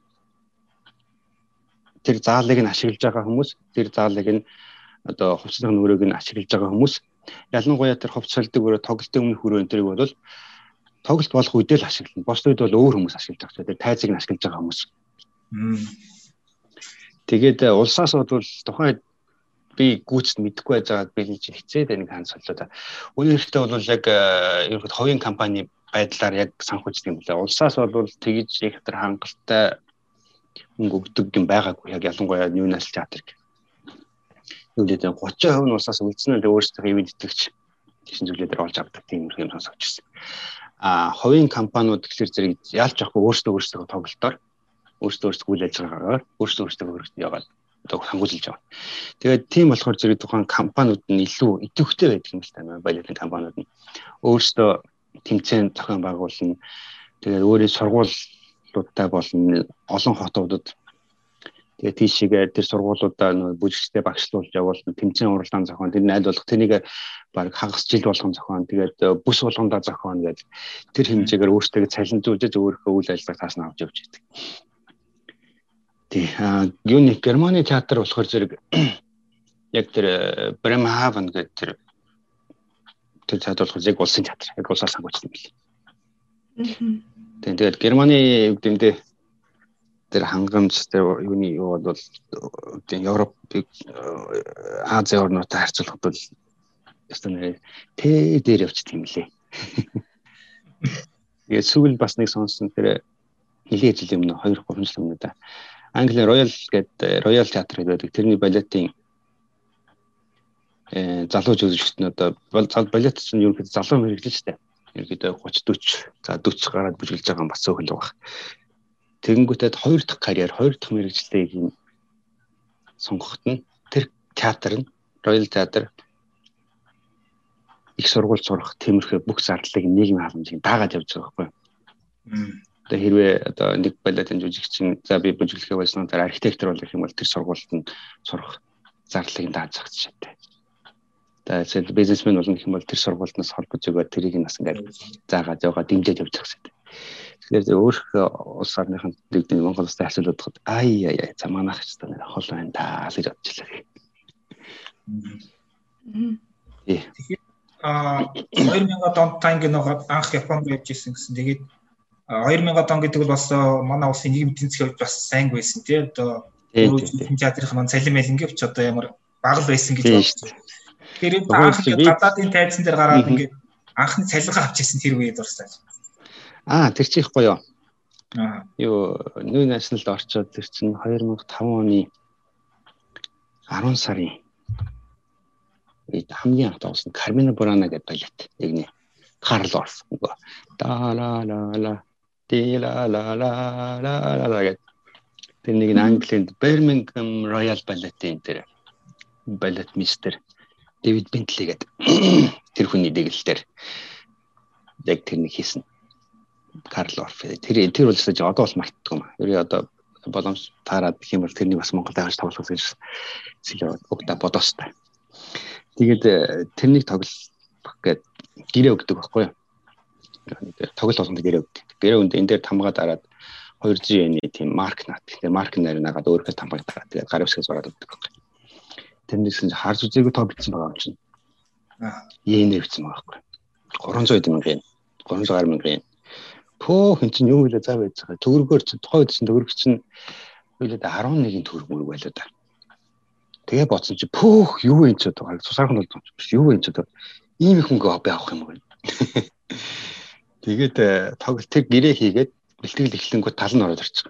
Тэр заалыг нь ашиглаж байгаа хүмүүс, тэр заалыг нь одоо хувьцах өрөөг нь ашиглаж байгаа хүмүүс. Ялангуяа тэр хувьцалдаг өрөө тоглолтын өмнөх өрөө энэ төрийг бол тоглолт болох үедээ л ашиглана. Бос үед бол өөр хүмүүс ашиглаж байгаа. Тэр тайзыг нь ашиглаж байгаа хүмүүс. Тэгээд улсаас бол тухайн би гүйцэд мэдэхгүй байж байгаад би ч хэцээд байна хан солиод. Үүнийхтэй бол яг ерөөд ховын компани байдлаар яг санхүүждэг юм байна. Улсаас бол тэгж их тэр хангалттай мөнгө өгдөг юм байгаагүй. Яг ялангуяа New National Theatre. Үлдээд thirty percent нь улсаас үлдсэн нь өөрсдөө ивент итгэж тийшин зүйлээр олж авдаг тийм юм сонсогч ирсэн. А ховын компаниуд тэгэхээр зэрэг яалч яахгүй өөрсдөө өөрсдөө тоглолтоор өөрсдөө өөрсдөө үйл ажиллагаагаар өөрсдөө өөрсдөө хөргөж яваад одоо хангуулж байгаа. Тэгээд тийм болохоор зэрэг тухайн компаниуд нь илүү идэвхтэй байдаг юм л таа. Баялагын компаниуд нь өөрсдөө тэмцээн зохион байгуулна. Тэгээд өөрийн сургуулиудтай болон олон хотуудад тэгээд тийшээ тэр сургуулиудаа нөө бүжигчтэй багшлуулж явуулна. Тэмцээн уралдаан зохион тэр нь аль болох тэрнийг баг хагас жил болгон зохион тэгээд бүс болгондоо зохион гэж тэр хэмжээгээр өөрсдөө цалинжуулж өөрийнхөө үйл ажиллагааг таасна авч явж байдаг. А юуны Германы театр болохоор зэрэг яг тэр Bremerhaven гэдэг тэр тэр театр болохоор яг улсын театр, яг улсаас санхүүждэг юм билээ. Тэгээд Германы үгдэмдээ тэр хангамж тэр юуны юу бол Европ Ази орнуудтай харьцуулахад бол ястаа тэ дээр явчихдаг юм лээ. Тэгээд сүүл бас нэг сонсон тэр нилийн жил өмнө two three жил өмнө да Англи Royal гэдэг Royal театр гэдэг тэрний балетын э залуу жүжигчдэн одоо балет чинь ерөнхийдөө залуу мэрэгжил шүү дээ. Ерөнхийдөө thirty forty за forty гараад бүжиглж байгаа юм бас цөөхөл байгаа. Тэгэнгүүтээ хоёр дахь карьер, хоёр дахь мэрэгжлийг юм сонгоход нь тэр театр нь Royal театр их сургууль сурах тиймэрхүү бүх зардлыг нийгмийн халамжийг даагаад явж байгаа байхгүй. Одоо хэрвээ одоо нэг балетын жүжигчин за би бүжиглэхээ байсан тэр архитектор болох юм бол тэр сургуульд нь сурах зарлалыг дааж зах жишээтэй. Тэгээд бизнесмен болно гэх юм бол тэр сургуульнаас холбож өгөөд тэрийг нас ингээд заагаад яваа дэмжиж явж зах жишээтэй. Тэгэхээр өөрийнхөө улс орныхын дэгдэн Монгол улстай харьцуулахад ай ай ай за манайх ч гэсэн хол байна да гэж бодчихлаа. Тэгэхээр а two thousand онд таньг нэг анх Японд явж ирсэн гэсэн. Тэгээд two thousand он гэдэг бол бас манай улсын нийгмийн эдийн засгийн хувьд бас сайн байсан тий. Одоо өөрөөр театрын маань цалин мэлингээ ч одоо ямар бага байсан гэж бодсон. Тэгэхээр анх гадаадын тайзан дээр гараад ингээд анхны цалингаа авчихсан тэр үед дурсаа. Аа тэр чих гоё. Аа. Юу New National-д орчоод тэр чинь two thousand five оны ten сарын үед хамгийн анх тоглосон Carmina Burana гэдэг балет. Яг нэ Карл Орф нөгөө да ла ла ла ди ла ла ла ла ла гэдэг. Тэр нэг Английн Birmingham Royal Ballet-ийн тэр балет мистер Дэвид Бентли гэдэг. Тэр хүний дэглэлээр яг тэр нэг хийсэн. Карл Орф. Тэр тэр бол зөв одоо бол мартдаг юм. Ер нь одоо боломж таарад гэх юм бол тэрний бас Монголд авч тоглох гэж сэлээ өгдө бодоостай. Тэгээд тэрнийг тоглох гээд гэрээ өгдөг байхгүй юу? Тоглолт болгонд гэрээ өгдөг. Гэрээ өнд энэ дээр тамгаа дараад two G yen-ийн тийм марк нат. Тэгээд марк нарыг нагаад өөрөөр тамгааг дараад тэгээд гар усыг зураад өгдөг байхгүй юу? Тэрнээс нь харж үзээгүй тоо бичсэн байгаа юм чинь. Аа. Yen хэвчсэн байгаа байхгүй юу? three hundred мянган yen. three hundred мянган yen. Пөө хин чинь юу вэ заа байж байгаа. Төгрөгөөр чинь тухайд чинь төгрөг чинь үйлээд eleven төгрөг мөрөг байлаа да. Тэгээ бодсон чи пөөх юу вэ ч одоо цусаархан бол биш юу вэ ч одоо ийм их мөнгө авах юм бэ. Тэгээд тоглолт тэр гэрээ хийгээд бэлтгэл эхлэнгүүт тал нь ороод ирчих.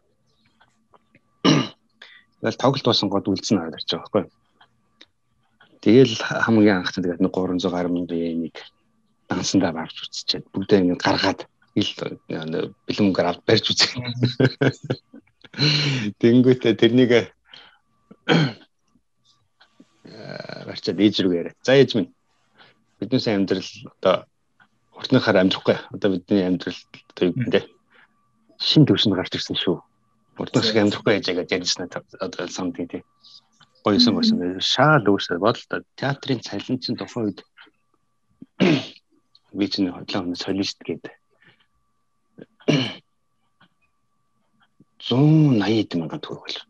Тэгэл тоглолт болсон гот үлдсэн ороод ирчих байхгүй. Тэгэл хамгийн анх тэгээд нэг гурван зуун гаруй мянган нэг дансандаа барж үзчихээд бүгдээ ингэ гаргаад ил бэлэмгээр авд барьж үзэх. Тэнгүүтээ тэрнийг барьчаад ээж рүү яриа. За ээж минь биднээс амьдрал одоо уртныхаар амьдрахгүй. Одоо бидний амьдрал одоо юу гэдэг шин төвшөнд гарч ирсэн шүү. Уртнах шиг амьдрахгүй яж гэж ярьсан одоо самтын тий. Гоёсон гоёсон шаал өөрсдөө бодлоо театрын цалинчин тухайн үед би чинь хотлоо солист гэдэг зуун наяд мянган төгрөг байлаа.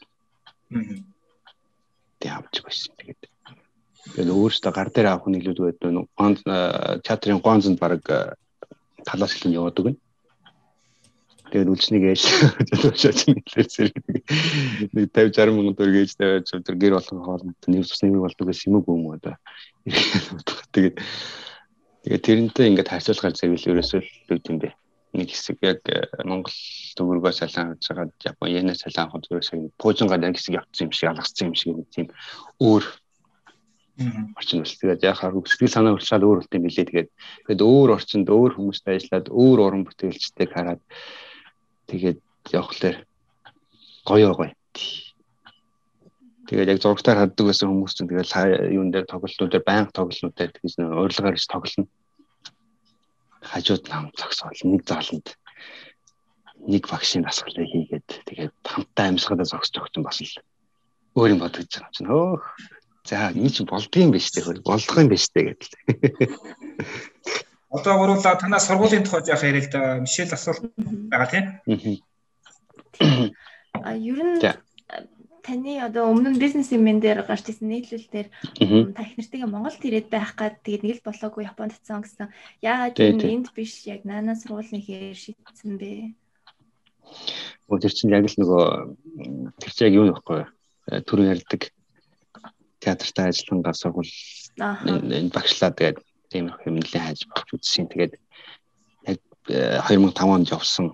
Тэг авч байсан тэгээд. Тэгээд өөрөөсөө гар дээр авах нь илүү байдаг нь гонц театрын гонцонд баг талаас хэлэн яваад өгнө. Тэгээд үлчнийг ээж төлөвшөөж нэлээд зэрэг нэг тавьж саран мянган төгрөг ээж тавьж тэр гэр болгон хоолнд нэр тус нэмэг болдог гэсэн юм уу одоо. Тэгээд тэгээд тэрнтэй ингээд харьцуулахаар зэрэг ерөөсөө л үг юм бэ. Нэг хэсэг яг Монгол төгрөгөөс салан авч байгаа Япон йенээс салан авах төгрөгөөс пуужингаар нэг хэсэг явцсан юм шиг алгацсан юм шиг нэг тийм өөр орчин үйл. Тэгээд яг хаа сэтгэл санаа уршаад өөр үлдэм билээ. Тэгээд тэгээд өөр орчинд өөр хүмүүстэй ажиллаад өөр уран бүтээлчтэйг хараад тэгээд явхлаар гоё гоё. Тэгээд яг зургатаар хаддаг байсан хүмүүс чинь тэгээд юун дээр тоглолтууд дээр байнга тоглолтууд дээр тэгж урилгаар ич тоглоно. Хажууд нам зогсоол нэг зааланд нэг вакцины дасгалыг хийгээд тэгээд хамтаа амьсгалаа зогсож өгсөн бас л өөр юм бодож байгаа юм чинь хөөх за энэ чинь болдгийм биш үү болох юм биш үү гэдэг. Одоо гурлаа танаас сургуулийн тухайд яах яриа л да Мишель асуулт байгаа тийм. А ер нь таны одоо өмнө нь бизнесмен дээр гарч ирсэн нийтлэл дээр та их нартайгаа Монголд ирээд байх гад тэгээд нэг л болоогүй Японд татсан гэсэн. Яагаад тийм энд биш яг наана сургуулийн хэр шийдсэн бэ? Өө тэр чинь яг л нөгөө тэр чинь яг юу нөхгүй түрүүн ярьдаг театртай ажиллагаа сургууль энэ багшлаа тэгээд тийм их хэмнэлийн хайж багч үзсэн. Тэгээд яг two thousand five онд явсан.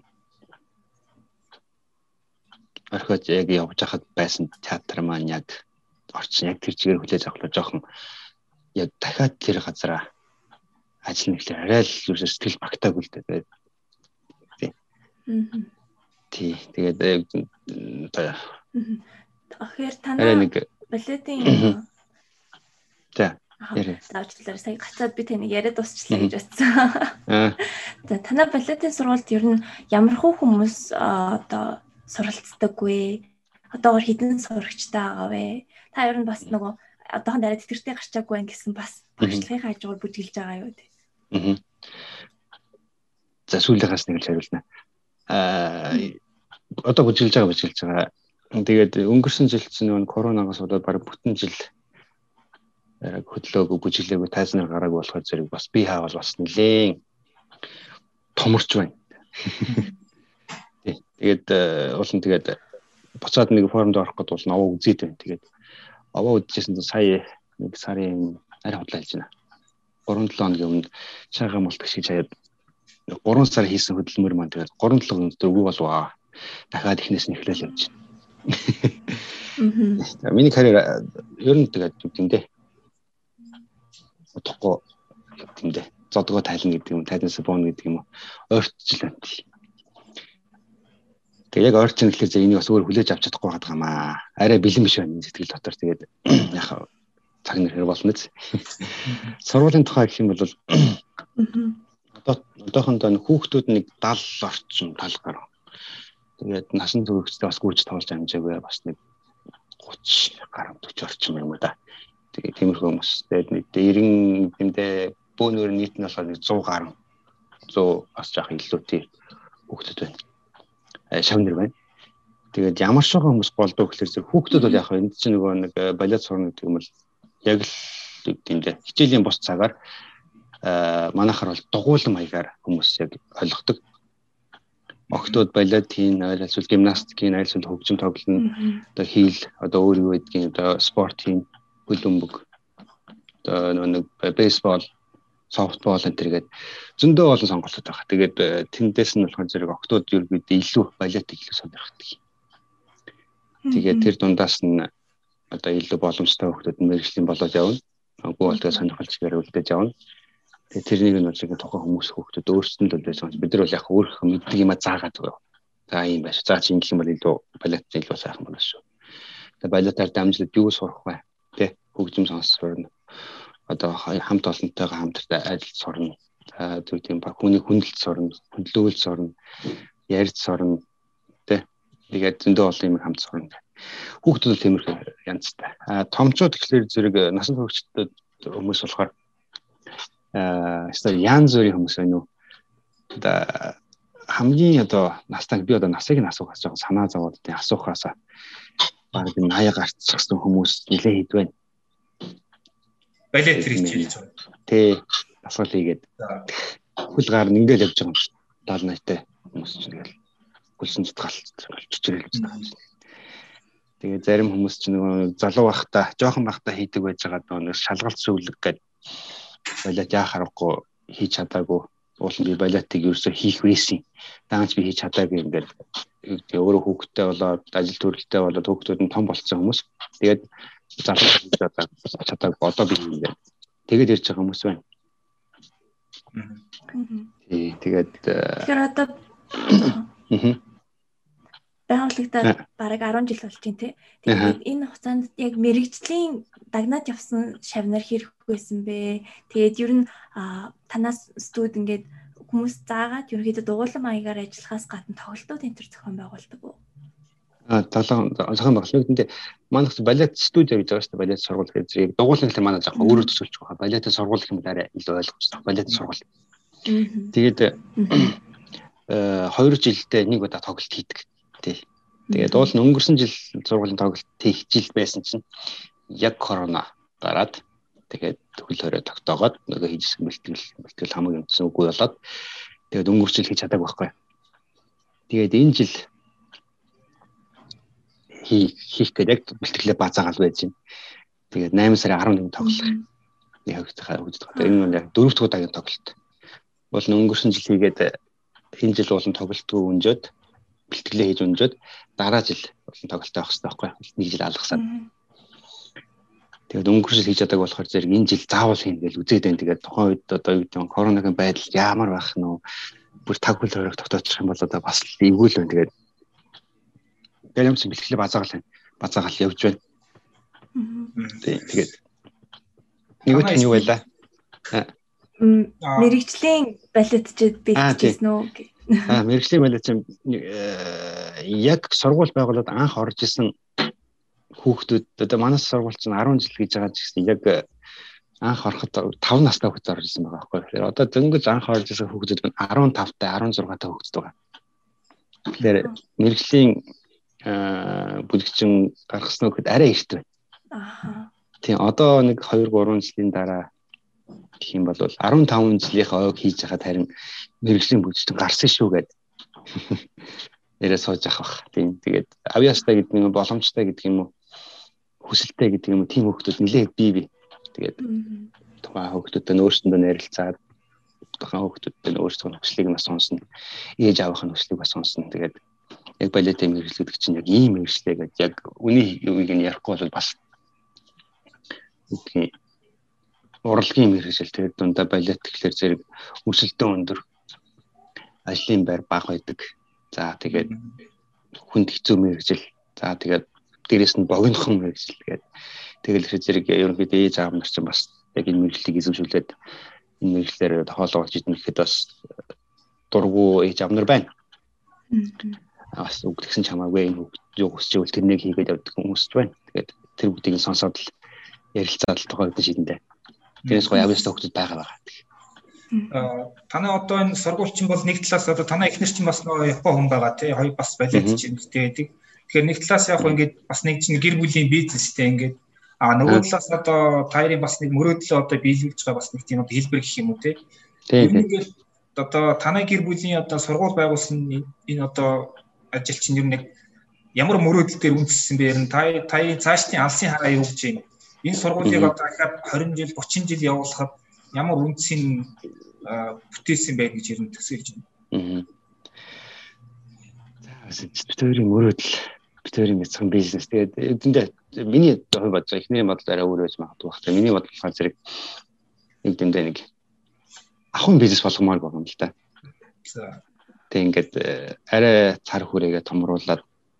Орхиж яг явж хахад байсан театр маань яг орчин яг тэр чигээр хүлээж авахлаа жоохон яг дахиад тэр газараа ажиллана гэхлээр арай л юусаа сэтгэл багтаагүй л дээ. Тий. Тий. Тэгээд одоо тэгэхээр танаа балетын за Заавчлаар сая гацаад би таныг яриад дуусчлаа гэж бодсон. За танаа балетын сургуульд ер нь ямар хөө хүмүүс одоо суралцдаггүй. Одоогор хідэн сурагчтай байгаа вэ? Та ер нь бас нөгөө одоохон дараа тэтгэртэй гарчаагүй байх гэсэн бас багшлагын хажуугаар бүжиглж байгаа юу те. Аа. За сүүлийнхээс нэг л хариулна. Аа одоо бүжиглж байгаа бүжиглж байгаа. Тэгээд өнгөрсөн жилд чинь нөгөө коронавигоос болоод баг бүтэн жил хөдлөөгүй бүжиглээгүй тайзнаар гараагүй болохоор зэрэг бас би хаавал бас нэлээд томорч байна. Тэгээд уулын тэгээд буцаад нэг форумд орох гэдэг бол аваа үзээд байна. Тэгээд аваа үзчихсэн сая нэг сарын арай худлаа хэлж байна. three seven хоногийн өмнө шагаа мултгаш хийж хаяад three сар хийсэн хөдөлмөр маань тэгээд three seven өнөдр үгүй болов. Дахиад ихнээс нь эхлээл явж байна. Аа. Миний карьер ер нь тэгээд юм дээ. Утгагүй юм дээ. Зодгоо тайлна гэдэг юм, тайлнаас бооно гэдэг юм уу. Ойртчихлаа. Тэгээ яг ойрчин гэхлээр энийг бас өөр хүлээж авч чадахгүй байгаа юм аа. Арай бэлэн биш байна сэтгэл дотор. Тэгээд яг цаг нэр хэр болно биз. Сургуулийн тухай гэх юм бол одоо одоохондоо хүүхдүүд нэг seventy орчим тал гарав. Тэгээд насан туршидаа бас гүйж тоолж амжаагүй бас нэг thirty гаруй forty орчим юм да. Тэгээд тиймэрхүү хүмүүс тэгээд нэг ninety гэмдээ бөөнөр нийт нь болохоор one hundred гаруй one hundred бас жаах илүүтэй хүүхдүүд байна. Шавнэр байна. Тэгээд ямар ч хүмүүс голдоо гэхэлэр зэрэг хүүхдүүд бол яг энэ чинь нөгөө нэг балет сурна гэдэг юм бол яг л гэмдээ хичээлийн бус цагаар манайхаар бол дугуйлан маягаар хүмүүс яг ойлгодог. Охтууд балет хийн, айлсвал гимнастик хийн, айлсвал хөгжим тоглоно, одоо хийл, одоо өөр юу гэдгийг одоо спорт хийн, хөлбөмбөг, одоо нэг бейсбол софтбол энэ төргээд зөндөө олон сонголтууд байгаа. Тэгээд тэндээс нь болохоор зэрэг октод ерөөд илүү балет илүү сонирхдаг. Тэгээд тэр дундаас нь одоо илүү боломжтой хүмүүс мэргэжлийн болоод явна. Үгүй бол тэгээд сонирхолч гэрүүлдэж явна. Тэгээд тэрнийг нь бол яг тухайн хүмүүс хүмүүс өөрсдөнд л байсан. Бид нар бол яг өөрийнхөө мэддэг юм а заагаад байгаа. За юм байна. За чи ингэх юм бол илүү балет илүү сайхан байна шүү. Тэгээд балетаар дамжуулаад юу сурах вэ? Тэ хөгжим сонсорно. Одоо хамт олонтойгоо хамтартай адил сурна. За зүг тийм ба хүний хүндэлт сурна, хүндлүүлэлт сурна, ярьж сурна. Тэ тэгээд зөндөө олон юм хамт сурна. Хүүхдүүд бол тиймэрхүү янзтай. А томчууд гэхлээр зэрэг насан туршид хүмүүс болохоор аа эсвэл янз бүрийн хүмүүс байна уу? Одоо хамгийн одоо настай би одоо насыг нь асуухаас жоохон санаа зовоод тийм асуухаас баг наяа гарцсан хүмүүс нэлээд хэд байна. Балет хийж байна. Тэ асуул хийгээд хөл гар нь ингээл явж байгаа юм шиг даал найтай хүмүүс ч тэгэл хөлсөн зүтгалцсан чичрэл гэж байгаа юм. Тэгээ зарим хүмүүс ч нэг залуу байхдаа жоохон байхдаа хийдэг байж байгаа нэг шалгалт сүлэг гэдэг балет яа харахгүй хийж чадаагүй уулын би балетыг ерөөсөө хийх байсан. Даанч би хийж чадаагүй ингээд өөрөө хүүхдтэй болоод ажил төрөлтэй болоод хүүхдүүд нь том болцсон хүмүүс. Тэгээд залуу хийж чадаагүй одоо би ингээд тэгээд ирж байгаа хүмүүс байна. Тий тэгээд тэгэхээр одоо байгууллагад бараг арван жил болж байна тий. Тэгээд энэ хугацаанд яг мэрэгжлийн дагнаад явсан шавнар хэрэг байсан бэ? Тэгээд ер нь танаас студ ингээд хүмүүс заагаад ерөнхийдөө дугуйлан маягаар ажиллахаас гадна тоглолтууд энэ төр зохион байгуулдаг уу? А талан зохион байгуулалт гэдэг манайх балет студио гэж байгаа шүү дээ. Балет сургууль гэж зэрэг дугуйлан гэхэл манай жоохон өөрөөр төсөөлж байгаа. Балет сургууль гэх юм арай илүү ойлгомжтой. Балет сургууль. Тэгээд э хоёр жилдээ нэг удаа тоглолт хийдэг. Тий. Тэгээд уул нь өнгөрсөн жил сургуулийн тоглолт хийх жил байсан чинь яг корона гараад тэгээд хөл хорой тогтоогоод нөгөө хийжсэн бэлтгэл бэлтгэл хамаг юмсан үгүй болоод тэгээд өнгөрсөн жил хийж чадаагүй байхгүй. Тэгээд энэ жил хийх гэдэг бэлтгэлээ базаагаал байж байна. Тэгээд найман сарын арван нэгнд тоглох. Яг хөгжих хөгжих. Энэ нь яг дөрөвт удаагийн тоглолт. Бол өнгөрсөн жил хийгээд энэ жил болон тоглолтгүй өнжөөд бэлтгэлээ хийж өнжөөд дараа жил болон тоглолттой авах хэрэгтэй байхгүй. Нэг жил алгасаад. Тэгээд өнгөрсөн жил хийж чадаагүй болохоор зэрэг энэ жил заавал хийнэ гэж үзээд байна. Тэгээд тухайн үед одоо юу гэдэг нь коронагийн байдал ямар байх нь вэ? Бүр таг хөл хориг тогтоочих юм бол одоо бас эвгүй л байна. Тэгээд тэгээд юм чи бэлтгэлээ базаагаал байна. Базаагаал явж байна. Тэгээд нэг үт нь юу байлаа? Мэргэжлийн балетчид бэлтгэсэн үү? Аа мэргэжлийн балет чинь яг сургууль байгуулад анх орж исэн хүүхдүүд одоо манай сургууль чинь арван жил гэж байгаа ч гэсэн яг анх ороход таван настай хүүхэд орж исэн байгаа байхгүй. Тэгэхээр одоо дөнгөж анх орж исэн хүүхдүүд нь арван тавтай арван зургаатай хүүхэд байгаа. Тэгэхээр мэргэжлийн бүлэгчин гаргасан хүүхэд арай ихтэй байна. Аа. Тийм одоо нэг хоёр гурван жилийн дараа гэх юм бол арван таван жилийнхаа ойг хийж хахад харин мэргэжлийн бүлэгчин гарсан шүү гэд. Ярээ сууж авах бах. Тийм тэгээд авьяастай гэдэг нь боломжтой гэдэг юм уу? Хүсэлтэй гэдэг юм уу? Тийм хүүхдүүд нэлээд бий бий. Тэгээд тухайн хүүхдүүдтэй өөрсөндөө ярилцаад тухайн хүүхдүүдтэй өөрсдөө хүслийг нь сонсно. Ээж аавынх нь хүслийг бас сонсно. Тэгээд яг балетын мэргэжил гэдэг чинь яг ийм мэргэжлээ гэж яг үний юуг нь ярихгүй бол бас үгүй урлагийн мэргэжил тэгээд дундаа балет гэхэлэр зэрэг өрсөлдөөн өндөр ажлын байр бага байдаг. За тэгээд хүнд хэцүү мэргэжил. За тэгээд дээрэс нь богинохон мэргэжил тэгээд тэгэл их зэрэг ерөнхийдөө ээж аав нар чинь бас яг энэ мэргэжлийг эзэмшүүлээд энэ мэргэжлээр тоолоогч идэх гэхэд бас дургу ээж аав нар байна. Бас үгдгсэн чамаагүй энэ юу хүсчихвэл тэрнийг хийгээд явдаг хүмүүс ч байна. Тэгээд тэр бүгдийг сонсоод л ярилцаад л тухайд шийдэндээ. Тэрээс гоё авьяастай хүмүүс байгаа байгаа. Аа танай одоо энэ сургуульчин бол нэг талаас одоо танай эхнэр чинь бас нөгөө Япон хүн байгаа тий хоёр бас балет чинь гэдэг. Тэгэхээр нэг талаас яг ингээд бас нэг чинь гэр бүлийн бизнестэй ингээд аа нөгөө талаас одоо таарын бас нэг мөрөөдлөө одоо биелүүлж байгаа бас нэг тийм одоо хэлбэр гэх юм уу тий. Тэгээд одоо танай гэр бүлийн одоо сургууль байгуулсан энэ одоо ажил чинь ер нь ямар мөрөөдөл дээр үндэссэн бэ? Ер нь та таны цаашдын алсын хараа юу гэж юм? Энэ сургуулийг одоо дахиад хорин жил, гучин жил явуулахад ямар үнцийн бүтээсэн байх гэж ер нь төсөөлж байна. За битүүрийн мөрөөдөл битүүрийн бяцхан бизнес тэгээд эдэндээ миний хувь бодож байгаа эхний бодол арай өөр байж магадгүй байна. Миний бодол болохоор зэрэг нэг дэндээ нэг ахын бизнес болгомоор байгаа юм л да. За тэг ингээд арай цар хүрээгээ томруулаад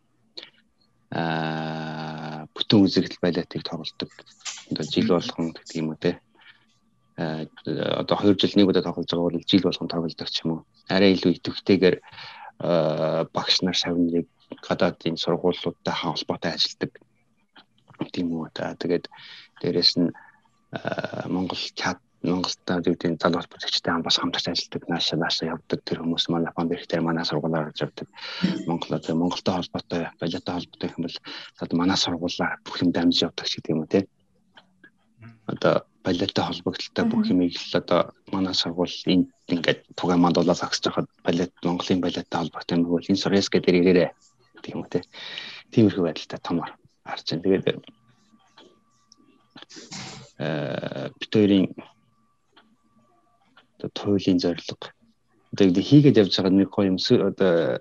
аа бүтэн үзэгдэл байлаатыг тоглолдог. Одоо жил болгон гэдэг юм уу те. Аа одоо хоёр жил нэг удаа тоглож байгаа бол жил болгон тоглолдог ч юм уу. Арай илүү идэвхтэйгээр багш нар шавныг гадаадын сургуулиудтай холбоотой ажилладаг тийм үү та тэгээд дээрэс нь Монгол чат Монголтай үүдийн залуус бүтээгчтэй хамбас хамтарч ажилладаг наашаа наашаа явдаг тэр хүмүүс манай фонд дээр манай сургуулиар орж явдаг Монголоо тэгээ Монголтой холбоотой балеттай холбоотой юм бол одоо манай сургуулиар бүх юм дамжиж явдаг ч гэдэг юм уу те одоо балеттай холбогдлолтой бүх юмыг л одоо манай сургууль энд ингээд тугаа мандуулаад зогсож байхад балет Монголын балеттай холбоотой юм бол энэ сургаас гэдэг ирээрээ гэх юм уу те. Тиймэрхүү байдалтай томор харж байна. Тэгээд э битүүрийн одоо туйлын зорилго одоо хийгээд явж байгаа нэг гоё юм одоо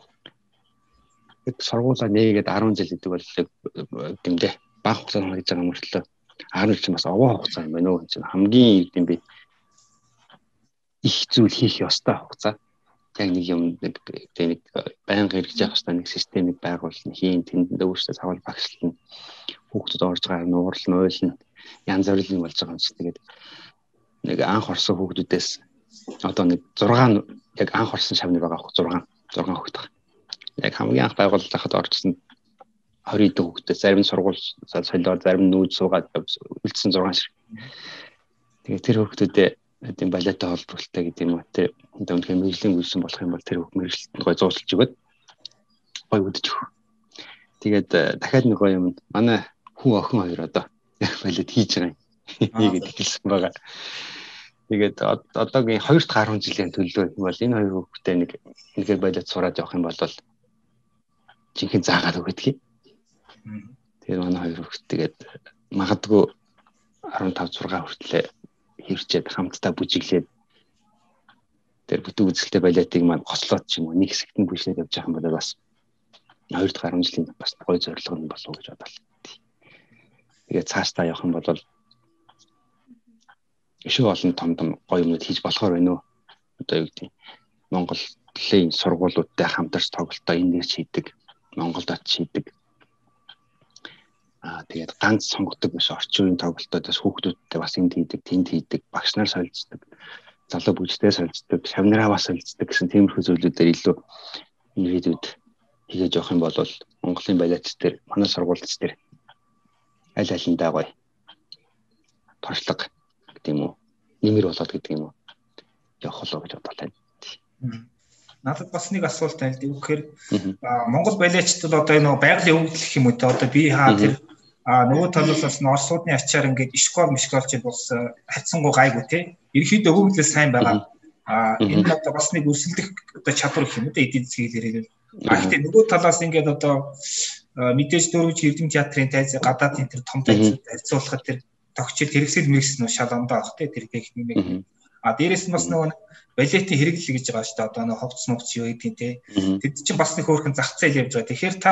сургуулаа нээгээд арван жил гэдэг бол гэмдэ баг хугацаанд хийж байгаа мөртлөө арван жил бас овоо хугацаа юм байна уу гэж хамгийн юм би их зүйл хийх ёстой хугацаа. Яг нэг юм нэг нэг байнга хэрэгжиж явах ёстой нэг системийг байгуулна, хийн тэнд өөрсдөө цавал багшлна. Хүүхдүүд орж байгаа нуурлна, ойлно, янз бүрийн болж байгаа юм чи тэгээд нэг анх орсон хүүхдүүдээс одоо нэг зураг яг анх орсон шавны байгаа хөх зураг зураг хүүхд байгаа. Яг хамгийн анх байгуулалт хахад орчихсон двадцать дэх хүүхдээс зарим нь сургууль солиор зарим нь нүүж суугаад үлдсэн зураг шиг. Тэгээд тэр хүүхдүүдээ тийм балеттай холбогдолтой гэдэг юм уу те одоо үнэхээр мэрэгжлийн үйлсэн болох юм бол тэр бүх мэрэгчлэлтэнд гой зуусалж өгöd гой үдэж өг. Тэгээд дахиад нэг гой юм манай хүн охин хоёр одоо балет хийж байгаа юм. Хийгээд эхэлсэн байгаа. Тэгээд одоогийн хоёр дахь арван жилийн төлөө юм бол энэ хоёр хүүхдээ нэг үнэхээр балет сураад явах юм бол жинхэнэ заагаад өгödгийг. Тэгээд манай хоёр хүүхд тэгээд магадгүй арван тав зураг хүртлээ хэрчээд хамтдаа бүжиглээд тэр бүтэн үзэлтэй балетыг маань гослоод ч юм уу нэг хэсэгт нь бүжиглээд явж байгаа юм бол бас хоёр дахь арван жилийн бас гоё зорилго нь болов уу гэж бодлоо. Тэгээд цаашдаа явах юм бол өшөө олон том том гоё юмуд хийж болохоор байна уу? Одоо юу гэдэг Монголын сургуулиудтай хамтарч тоглолтоо энэ нэрч хийдэг, Монголд очиж хийдэг. Аа тэгээд ганц сонгодог биш орчин үеийн тоглолтоодоос хүүхдүүдтэй бас энд хийдэг, тэнд хийдэг, багш нар солилцдог, залуу бүжигтэй солилцдог, шавнараа бас солилцдог гэсэн тиймэрхүү зүйлүүдээр илүү ирээдүйд хийж явах юм бол Монголын балетч дээр, манай сургуульч дээр аль алиндаа гоё туршлага гэдэг юм уу, нэмэр болоод гэдэг юм уу явах болоо гэж бодлоо. Надад бас нэг асуулт байна. Тэгэхээр Монгол балетчдад одоо энэ байгалийн өвдөлөх юм уу те одоо би хаа тэр нөгөө талаас бас Оросуудны ачаар ингээд ишкол мишколч бас хайцсангуу гайгүй те. Ерхийдөө өвдлөл сайн байгаа. А энэ одоо бас нэг өрсөлдөх одоо чадвар гэх юм уу те эдийн засгийн хэлээр. А гэхдээ нөгөө талаас ингээд одоо мэдээж дөрвж эрдэм театрын тайз гадаадын тэр том тайзууд харьцуулахад тэр тогтчил хэрэгсэл мэрэгс нь шалгандаа ах те тэр техник. А дээрэс нь бас нөгөө балетийн хэрэглэл гэж байгаа шүү дээ. Одоо нэг ховц мовц юу гэдэг те. Тэд чинь бас нэг хөөрхөн зах зээл явж байгаа. Тэгэхээр та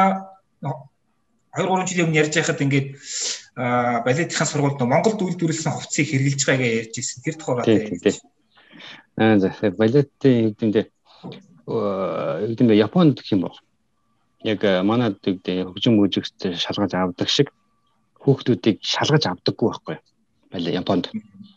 хоёр гурван жилийн өмнө ярьж байхад ингээд балетийн сургуульд Монголд үйлдвэрлэсэн ховцыг хэрэглэж байгаагаа ярьж ирсэн. Тэр тухайгаар ярьж. Аа за балетийн хэдиндээ хэдиндээ Японд гэх юм бол яг манайд гэдэг хөгжим мужигт шалгаж авдаг шиг хүүхдүүдийг шалгаж авдаггүй байхгүй. Балет Японд.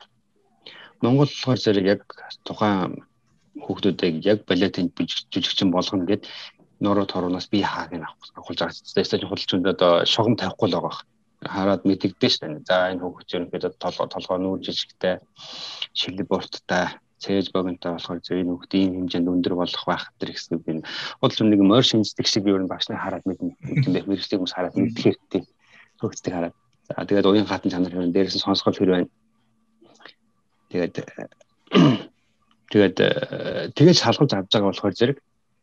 Монгол болохоор зэрэг яг тухайн хүүхдүүдийг яг балетын жүжигчин болгоно гэд нуруу торунаас би хааг нь авахулж байгаа. Тэсэж худалчинд одоо шогом тавихгүй л байгаа. Хараад мэдэгдэн ш тань. За энэ хүүхд ерөнхийдөө толгой толгой нүүр жижигтэй, шилэг бурттай, цээж богинтой болохоор зөв энэ хүүхд ийм хэмжээнд өндөр болох байх гэдэг хэсэг би худалч нэг морь шинждэг шиг ер нь багш нар хараад мэднэ. Тийм байх мэрэгчлэг хүмүүс хараад мэдэх хэрэгтэй. Хүүхдтэй хараад. За тэгээд уян хатан чанар хэрэг дээрээс нь сонсгол хэр байна. Тэгээд тэгээд тэгээд шалгуулж авч байгаа болохоор зэрэг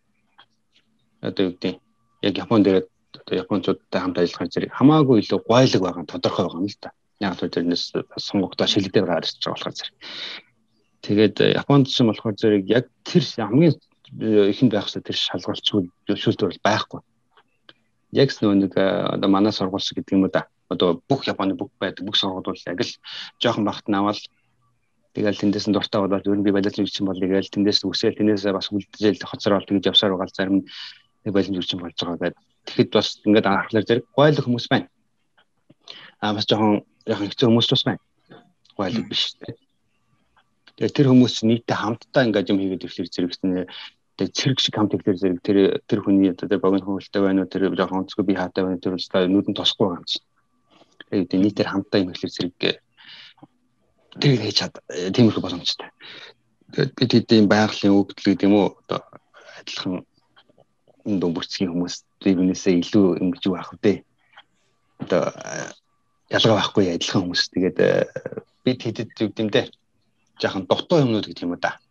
одоо юу гэдэг яг Японд дээр одоо японочдтой хамт ажиллахаар зэрэг хамаагүй илүү гойлог байгаа тодорхой байгаа юм л та. Яг л тэрнээс сонгогдоо шилэгдээд гарч байгаа болохоор зэрэг. Тэгээд Японд ч болохоор зэрэг яг тэр хамгийн ихэнд байх хэвээр тэр шалгуулчгүй зөвшөөрөл бол байхгүй. Яг л нэг одоо манай сургууль шиг гэдэг юм уу да. Одоо бүх Японы бүх байдаг бүх сургууль бол яг л жоохон багт навал тэгэл тэндээс нь дуртай болоод ер нь би балет жүжигчин болъё гээл тэндээс үсээл тэндээс бас үлдчихэл хоцрол тэгж явсаар байгаа зарим нэг балет жүжигчин болж байгаа гэдэг. Тэгэхэд бас ингээд анхаарлаар зэрэг гойл хүмүүс байна. Аа бас жоохон яхан хэцүү хүмүүс бас байна. Гойл биш тийм. Тэгээ тэр хүмүүс нийтдээ хамтдаа ингээд юм хийгээд ирэхлээр зэрэгснэ тэг цэрэг шиг хамт ирэхлээр зэрэг тэр тэр хүний одоо тэр богино хөвөлтэй байна уу тэр жоохон онцгой би хаатай байна тэр бол нүдэн тосхгүй байгаа юм чинь. Тэгээд нийтээр хамтдаа юм ирэхлээр зэрэг тэр хийж чад тиймэрхүү боломжтой. Тэгээд бид хэдийн байгалийн өгдөл гэдэг юм уу одоо адилхан дүнбүрцгийн хүмүүс тэрнээсээ илүү ингэж юу ах вэ? Одоо ялгаа байхгүй адилхан хүмүүс. Тэгээд бид хэдэд үг юм дээ. Жаахан дутуу юмнууд гэдэг юм уу да.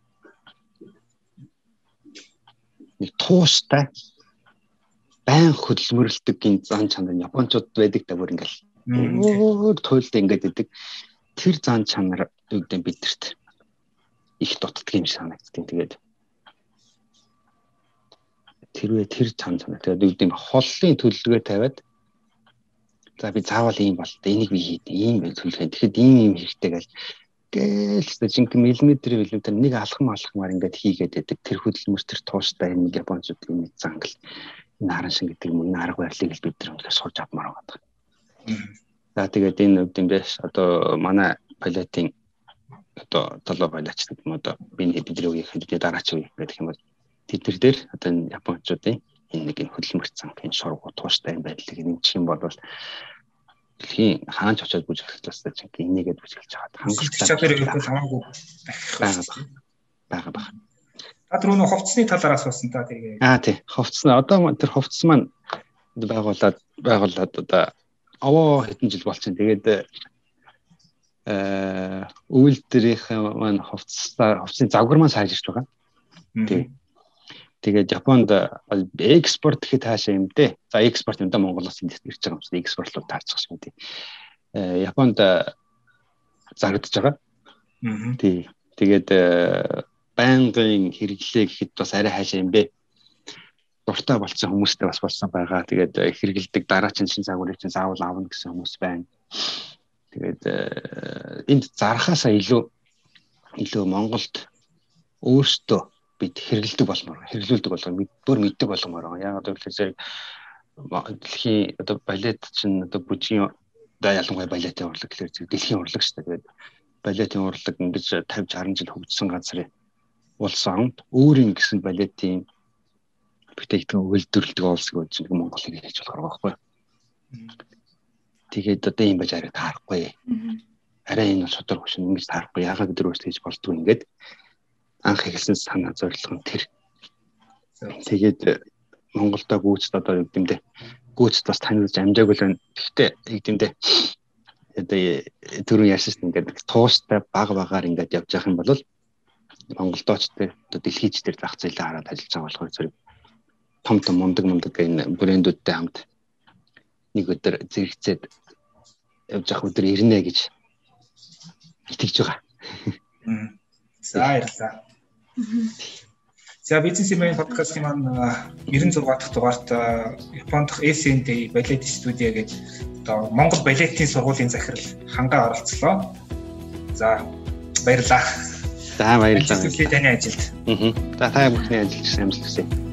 Нэг тууштай байн хөдөлмөрлөдөг гин зан чанар Япончууд байдаг та бүр ингээл өөр туйлдаа ингээд идэг. Тэр зан чанар үгдэн бидэрт их дутдаг юм санагддаг. Тэгээд тэрвээ тэр зан чанар тэгээд үгдэн холлын төлөвлөгөө тавиад за би заавал ийм бол энийг би хийх ийм төлөвлөгөө. Тэгэхэд ийм ийм хэрэгтэй гэл гээл жинхэнэ миллиметр миллиметр нэг алхам алхмаар ингээд хийгээд байдаг. Тэр хөдөлмөр тэр тууштай нэг Япончууд ийм зангал энэ харан шин гэдэг юм энэ арга барилыг л бид нар өнөөдөр сурч авмаар байгаа. За тэгээд энэ үгдэн дэс одоо манай балетын одоо толгой балетч гэдэг юм одоо би бидний үеийн хэдийн дараач үе гэдэг юм бол тэд нар дээр одоо энэ Япончуудын энэ нэг хөдөлмөр занг энэ шургуу тууштай байдлыг нэмчих юм бол дэлхийн хаанч очиод бүжиглэх талаас чинь энийгээд бүжиглэж байгаа. Хангалттай чадвар өгөх хамаагүй байгаа байгаа байгаа. Та түрүү нөх хувцсны талаар асуусан та тэгээ. Аа тий. Хувцс нь одоо тэр хувцс маань байгуулад байгуулад одоо овоо хэдэн жил болчихсон. Тэгээд э үйлдвэрийн маань хувцсаа хувцсны завгар маань сайжирч байгаа. Тий. Тэгээд Японд экспорт гэхэд хаашаа юм дээ. За экспорт юм да Монголоос ирж байгаа юм шиг экспортлууд таарчих юм тий. Э Японд зарагдж байгаа. Тий. Тэгээд байнгын хэрэглээ гэхэд бас арай хаашаа юм бэ. Дуртай болсон хүмүүстэй бас болсон байгаа. Тэгээд хэрэгэлдэг дараачин шин загварыг чинь заавал авна гэсэн хүмүүс байна. Тэгээд энд зархаасаа илүү илүү Монголд өөртөө бид хэрэгэлдэг болмоор хэрэглүүлдэг болгоо бүр мэддэг болгомоор байгаа. Яг одоо тэгэхээр дэлхийн одоо балет чинь одоо бүжгийн одоо ялангуяа балетын урлаг гэхээр дэлхийн урлаг шүү дээ. Тэгээд балетын урлаг ингэж тавьж харан жил хөгжсөн газрын улс орнд өөрийн гэсэн балетын бүтээгдэхүүн үйлдвэрлэдэг улс гэж нэг Монгол хэрэг хийж болохоор байгаа байхгүй. Тэгээд одоо юм байж арай таарахгүй. Арай энэ шудраг хөшин ингэж таарахгүй. Яагаад гэдэг өөрөөс хийж болдгоо ингээд анх эхэлсэн санаа зорилго нь тэр. Тэгээд Монголдо гүйцэд одоо югдэмдээ гүйцэд бас танилцж амжаагүй л байна. Гэхдээ югдэмдээ одоо түрүү яашсан ингээд тууштай баг багаар ингээд явж явах юм бол Монголдоочтой одоо дэлхийчдэр зах зээлээ хараад ажиллаж байгаа болохоор зэрэг том том мундаг мундаг энэ брэндүүдтэй хамт нэг өдөр зэрэгцээд явж явах өдөр ирнэ гэж итгэж байгаа. За баярлалаа. За бизнесмен подкастын маань девяносто шесть дахь дугаарт Японд дах эс эн дэ балет студио гэж одоо Монгол балетын сургуулийн захирал хангаа оролцлоо. За баярлалаа. За баярлалаа. Таны ажилд. Аа. За та бүхний ажилд амжилт хүсье.